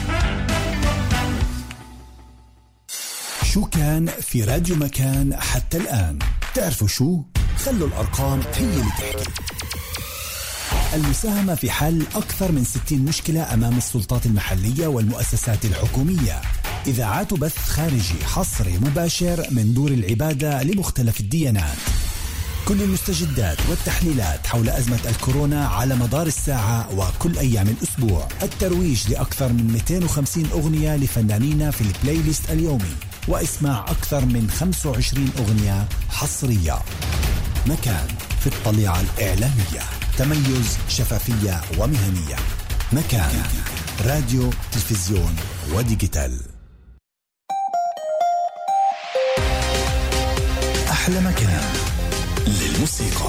شو كان في راديو مكان حتى الآن؟ تعرفوا شو؟ خلوا الأرقام هي اللي تحكي. المساهمة في حل أكثر من 60 مشكلة أمام السلطات المحلية والمؤسسات الحكومية. إذاعات بث خارجي حصري مباشر من دور العبادة لمختلف الديانات. كل المستجدات والتحليلات حول أزمة الكورونا على مدار الساعة وكل أيام الأسبوع. الترويج لأكثر من 250 أغنية لفنانين في البلاي ليست اليومي، واسمع أكثر من 25 أغنية حصرية. مكان في الطليعة الإعلامية، تميز، شفافية ومهنية. مكان راديو، تلفزيون وديجيتال. أحلى مكان للموسيقى.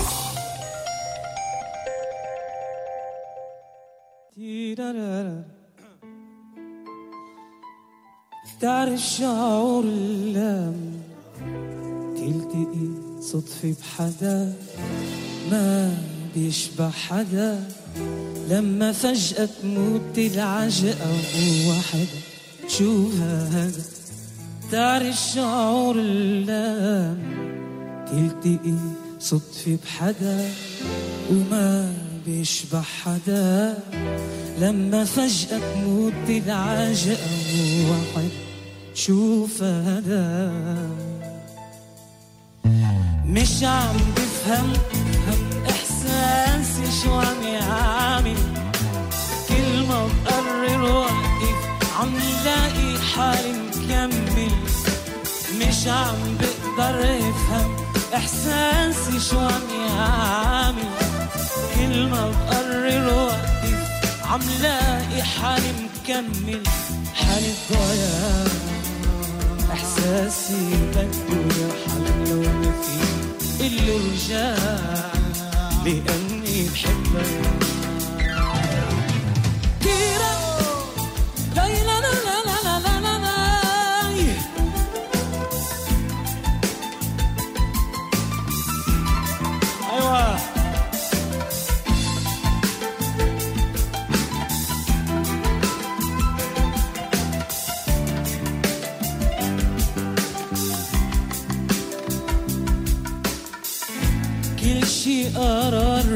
تعرف شعور لما تلتقي صدفة بحدا ما بيشبه حدا، لما فجأة تموت العجقة وحدا. شو هذا؟ تعرف شعور لما تلتقي صدفة بحدا وما بيشبه حدا، لما فجأة تموت العجقة وحدا. شوف هذا مش عم بفهم احساسي شو عم يعمل، كل ما بقرر وقف عم لاقي حالي مكمل. مش عم بقدر افهم احساسي شو عم يعمل، كل ما بقرر وقف عم لاقي حالي مكمل. حالي ضايع احساسي بده يرحل لو ما في اللي رجع لاني بحبك. كيرا لا لا لا لا لا لا لا لا. ايوه قرار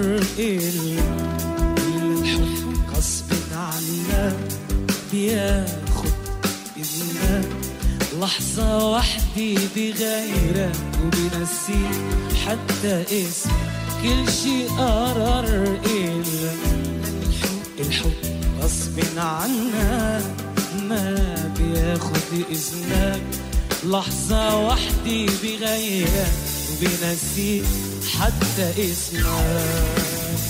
الحب غصب عنك بياخد إذنك، لحظة وحدي بغيرك وبنسيك حتى اسمك. كل شي قرار الحب غصب عنك ما بياخد إذنك، لحظة وحدي بغيرك وبنسيك حتى اسمك.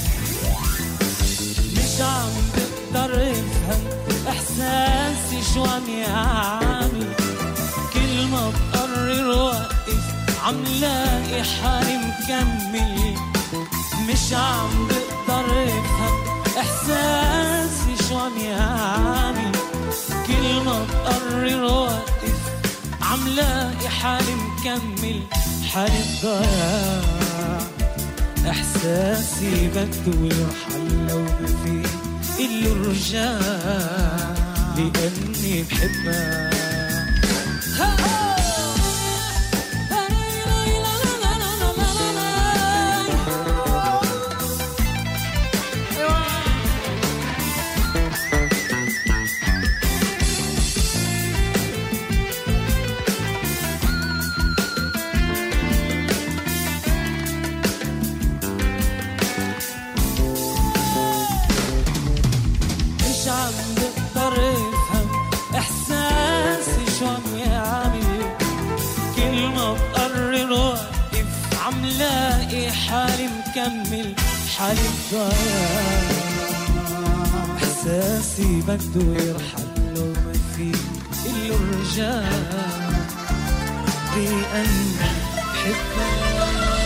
مش عم بقدر افهم احساسي شو عم يعمل، كل ما بقرر وقف عم لاقي حالي مكمل. مش عم بقدر افهم احساسي شو عم يعمل، كل ما بقرر وقف عم لاقي حالي مكمل. حالي ضايع احساسي بده يرحل لو ما في اللي رجع لاني بحبك. حالي مكمل، حالي ضايع احساسي بده يرحل لو ما في اللي رجع لاني بحبك.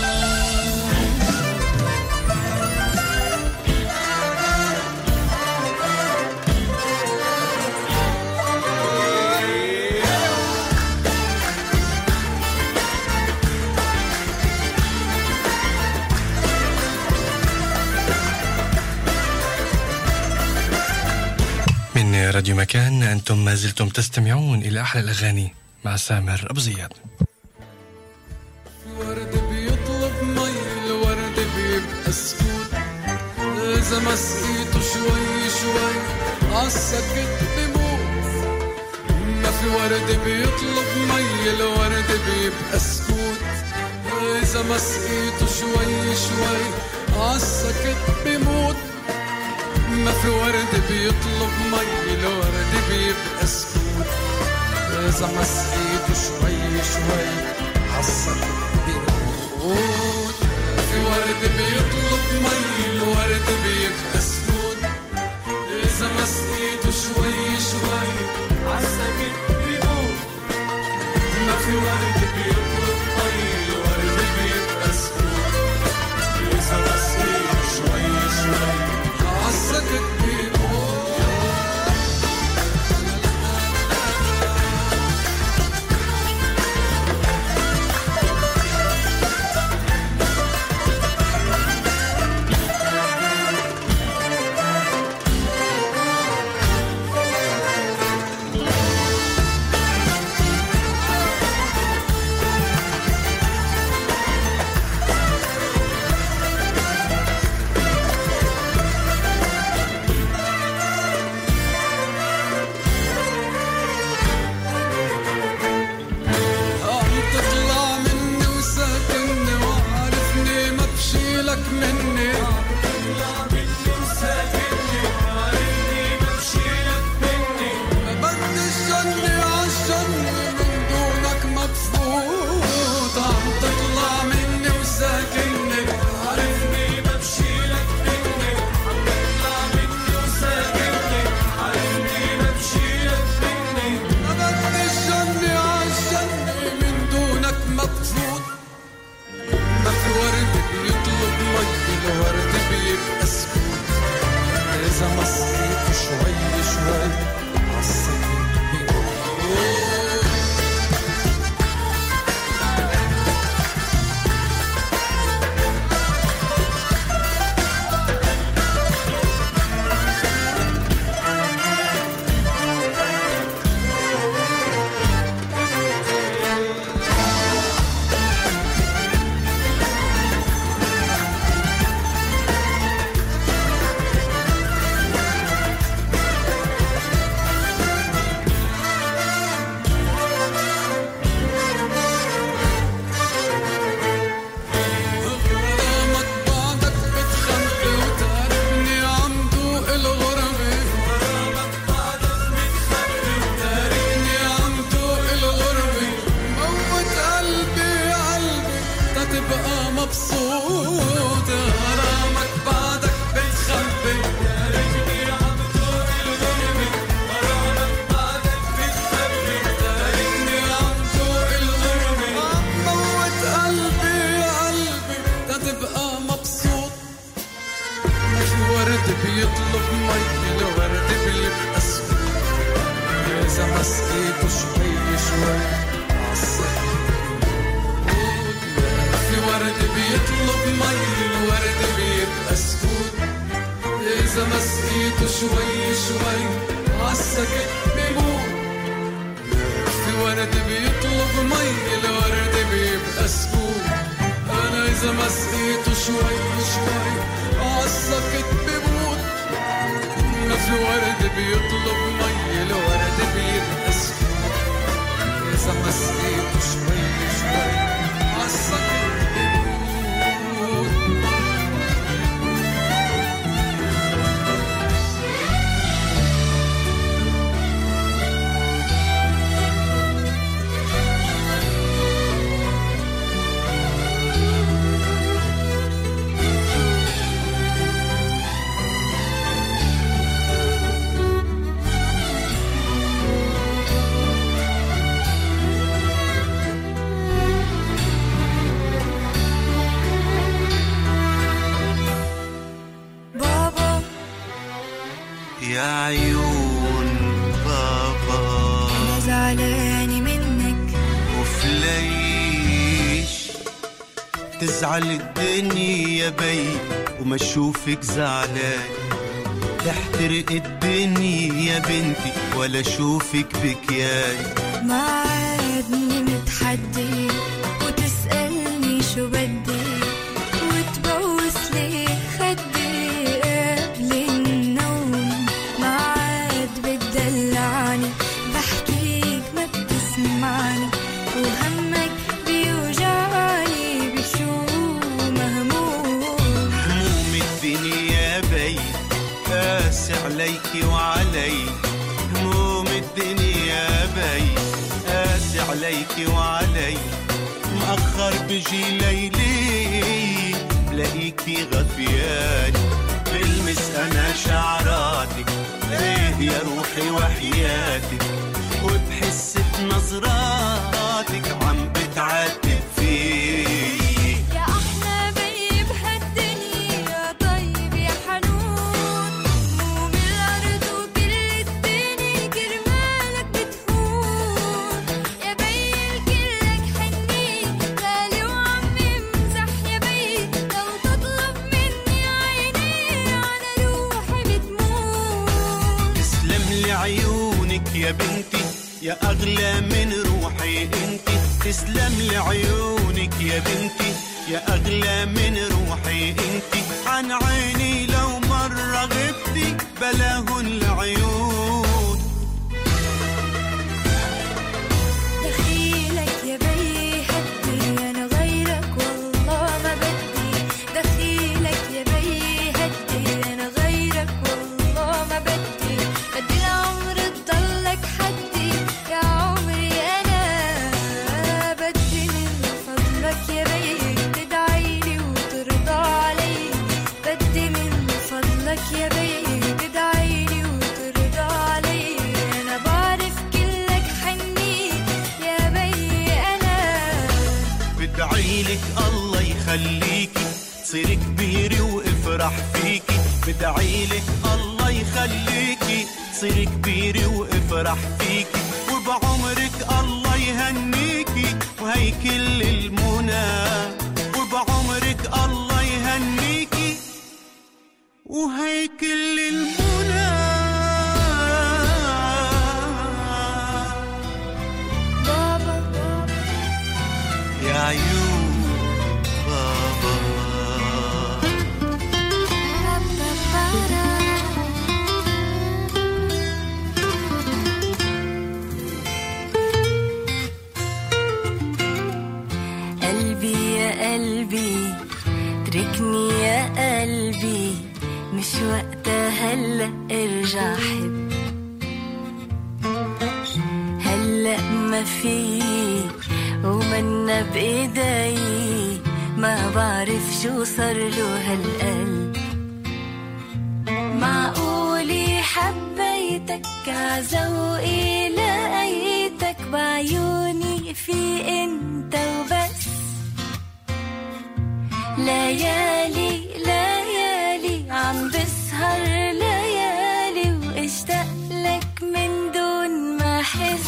راديو مكان، أنتم ما زلتم تستمعون إلى أحلى الأغاني مع سامر أبو زياد. الورد بيطلب مي، الورد بيبقى سكوت، إذا ما سقيته شوي شوي عالسكت بموت. ما في ورد بيطلب مي، الورد بيبقى سكوت، إذا ما سقيته شوي شوي عالسكت بيموت. ما في ورد بيطلب مي الورد بيبقى سكوت. إذا ما سقيته شوي شوي عالسكت بيموت. في ورد بيطلب مي الورد بيبقى سكوت. إذا ما سقيته شوي شوي عالسكت بيموت. ما في ورد بيطلب مي الورد بيبقى سكوت. إذا ما سقيته شوي شوي عالسكت بيموت. تزعل الدنيا بي وما اشوفك زعلان. تحترق الدنيا يا بنتي ولا اشوفك بكيان. ما عادني متحدي وتسألني شو بدي وتبوس لي خدي قبل النوم. ما عاد بتدلعني بحكيك ما بتسمعني وهمك بيوجعني وعلي هموم الدنيا بي قاسي عليكي وعلي مأخر بجي ليلي بلاقيكي غفياني بلمس أنا شعراتك ليه يا روحي وحياتك وبحس بنظراتك عم بتعاتب فيك يا أحلى بي بهالدنيا طيب يا حنون هموم الأرض وكل الدنيا كرمالك بتهون يا بي الكلك حنين غالي وعم يمزح يا بي لو تطلب مني عيني على روحي بتموت تسلم لي عيونك يا بنتي يا أغلى من روحي انتي تسلم لي عيونك يا بنتي يا أغلى من روحي انتي عن عيني لو مرة غبتي بلاهن العيون دخيلك يا بي هدي أنا غيرك والله ما بدي دخيلك يا بي هدي أنا غيرك والله ما بدي بدي العمر تضلك حدي يا عمري أنا بدي من فضلك يا بي تدعيلي وترضى علي بدي من فضلك يا بي تدعيلي وترضى علي أنا بعرف كلك حنين يا بي أنا بدعيلك الله يخليكي تصيري كبيرة وافرح فيكي بدعيلك الله يخليكي تصيري كبيرة وافرح فيكي وبعمرك الله يهنيكي وهي كل المنى وبعمرك الله يهنيكي وهي كل المنى بابا يا عيون بابا قلبي يا قلبي تركني يا قلبي مش وقتها هلأ ارجع حب هلأ ما في ومنا بإيدي ما بعرف شو صار له هالقلب معقولي حبيتك عزوقي لقيتك بعيوني في انت وبس ليالي ليالي عم بسهر ليالي واشتاق لك من دون ما احس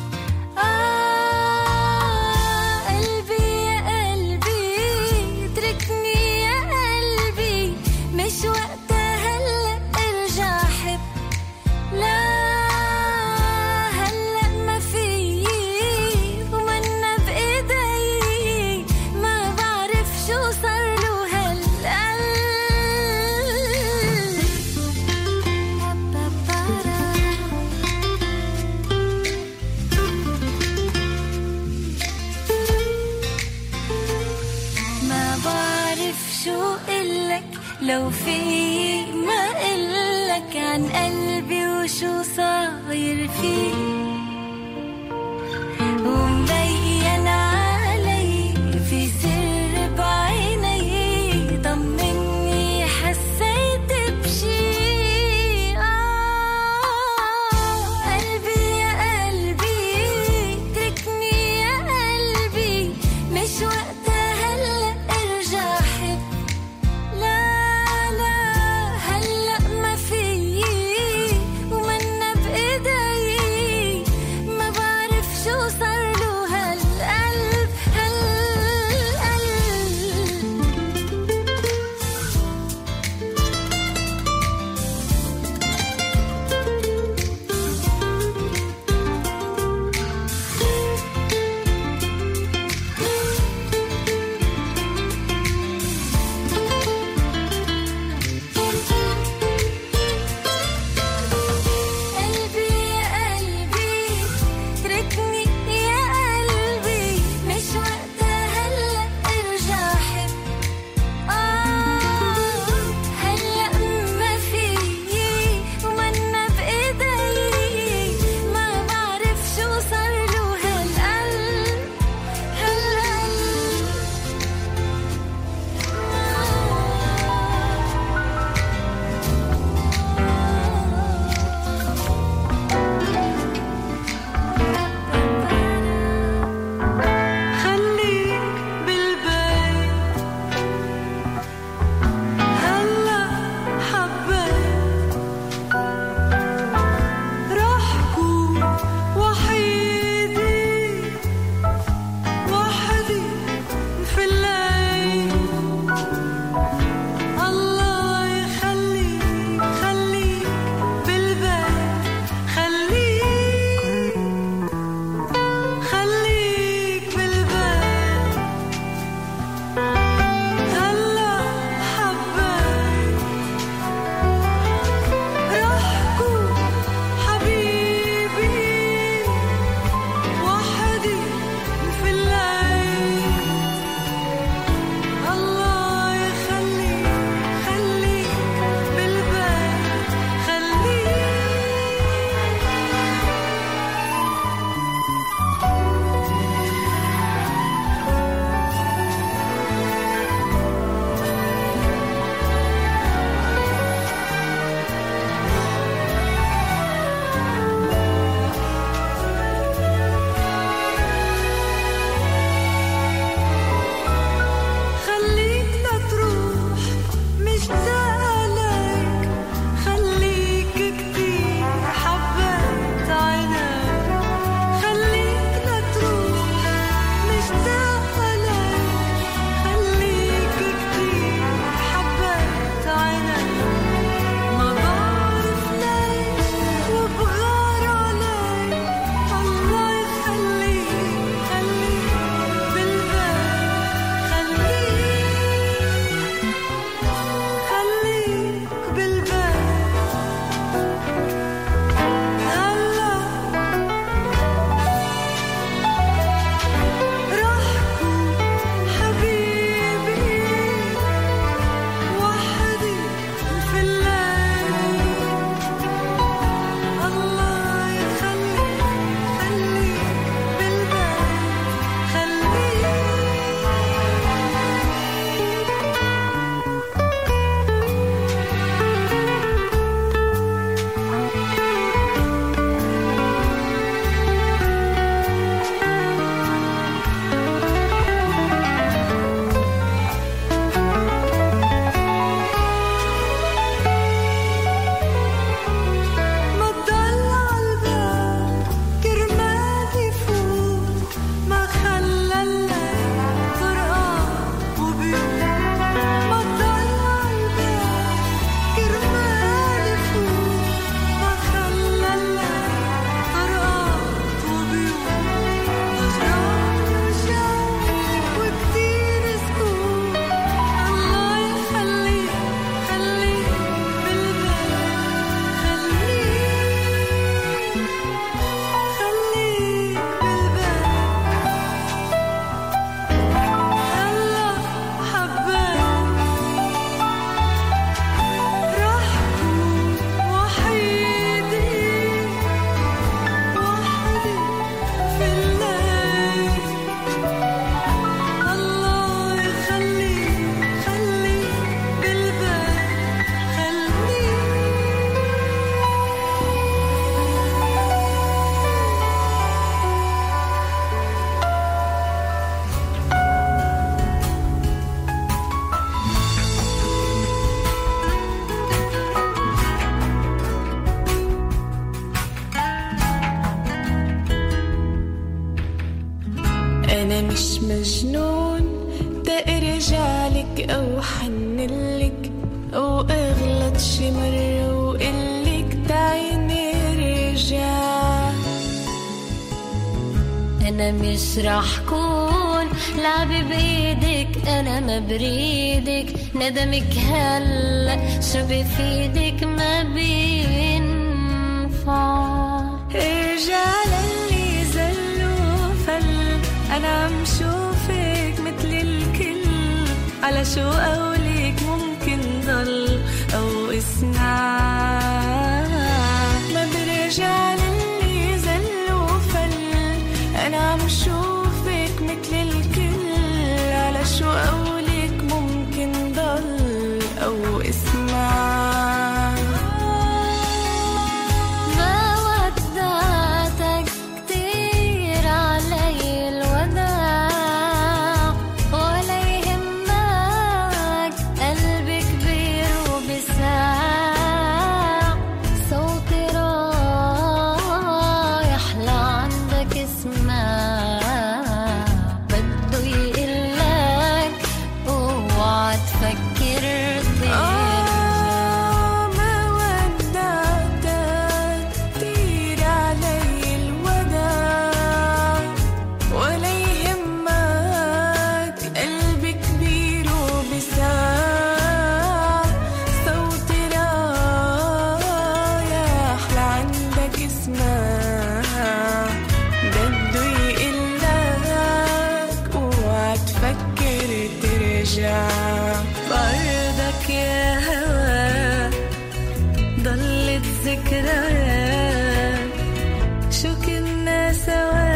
قلبي يا قلبي اتركني يا قلبي مش وقتها هلا ارجع حب لا هلا ما في ومنا بايدي ما بعرف شو صار له هالقلب ما بعرف شو قلك لو في ما قلك عن قلبي وشو صاير فيه ومبين علي في سر بعيني طمني حسيت بشي قلبي يا قلبي تركني يا قلبي مش وقتها هلا ارجع حب لا لا هلا ما في ومنا بايدي أنا مش مجنون تأرجعلك أو حنلك أو أغلط شي مرة وقلك تعيني رجع. أنا مش راح كون لعبي بإيدك، أنا ما بريدك، ندمك هلأ شو بفيدك ما بينفع. ارجع للي زلوا فل، أنا عم شوفك مثل الكل، على شو قولك ممكن ضل أو اسمع. ما برجع للي زلوا فل، أنا عم شوفك مثل الكل، على شو قولك ممكن ضل أو اسمع. بردك يا هوا ضلت ذكريات شو كنا سوا.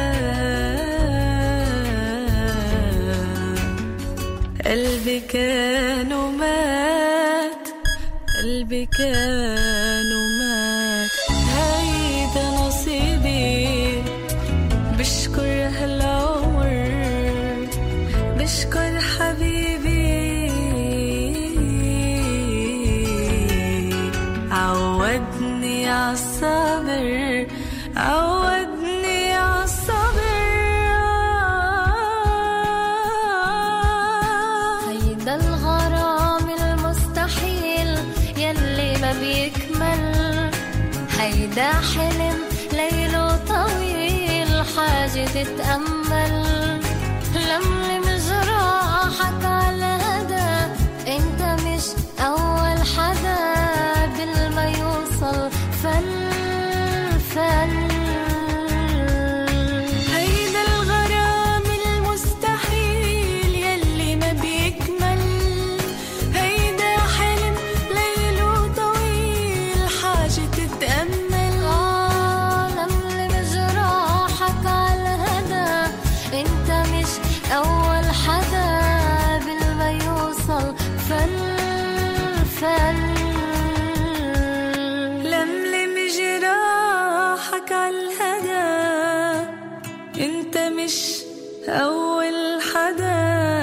قلبي كان ومات، قلبي كان ومات، هيدا نصيبي. بشكر هالعمر، بشكر حبيبي، عودني عالصبر، عودني عالصبر. هيدا الغرام المستحيل يلي ما بيكمل، هيدا حلم ليله طويل حاجة تتأمل. لملم جراحك على هدا، انت مش اول حدا بالما يوصل فل فل. هيدا الغرام المستحيل يلي ما بيكمل، هيدا حلم ليله طويل حاجة تتأمل. لملم جراحك على هدا، انت مش أول حدا بالما يوصل فل فل. لملم جراحك عالهدا، انت مش أول حدا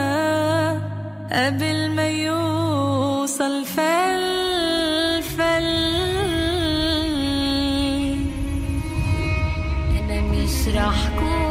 قبل ما يوصل فل فل. أنا مش راح كون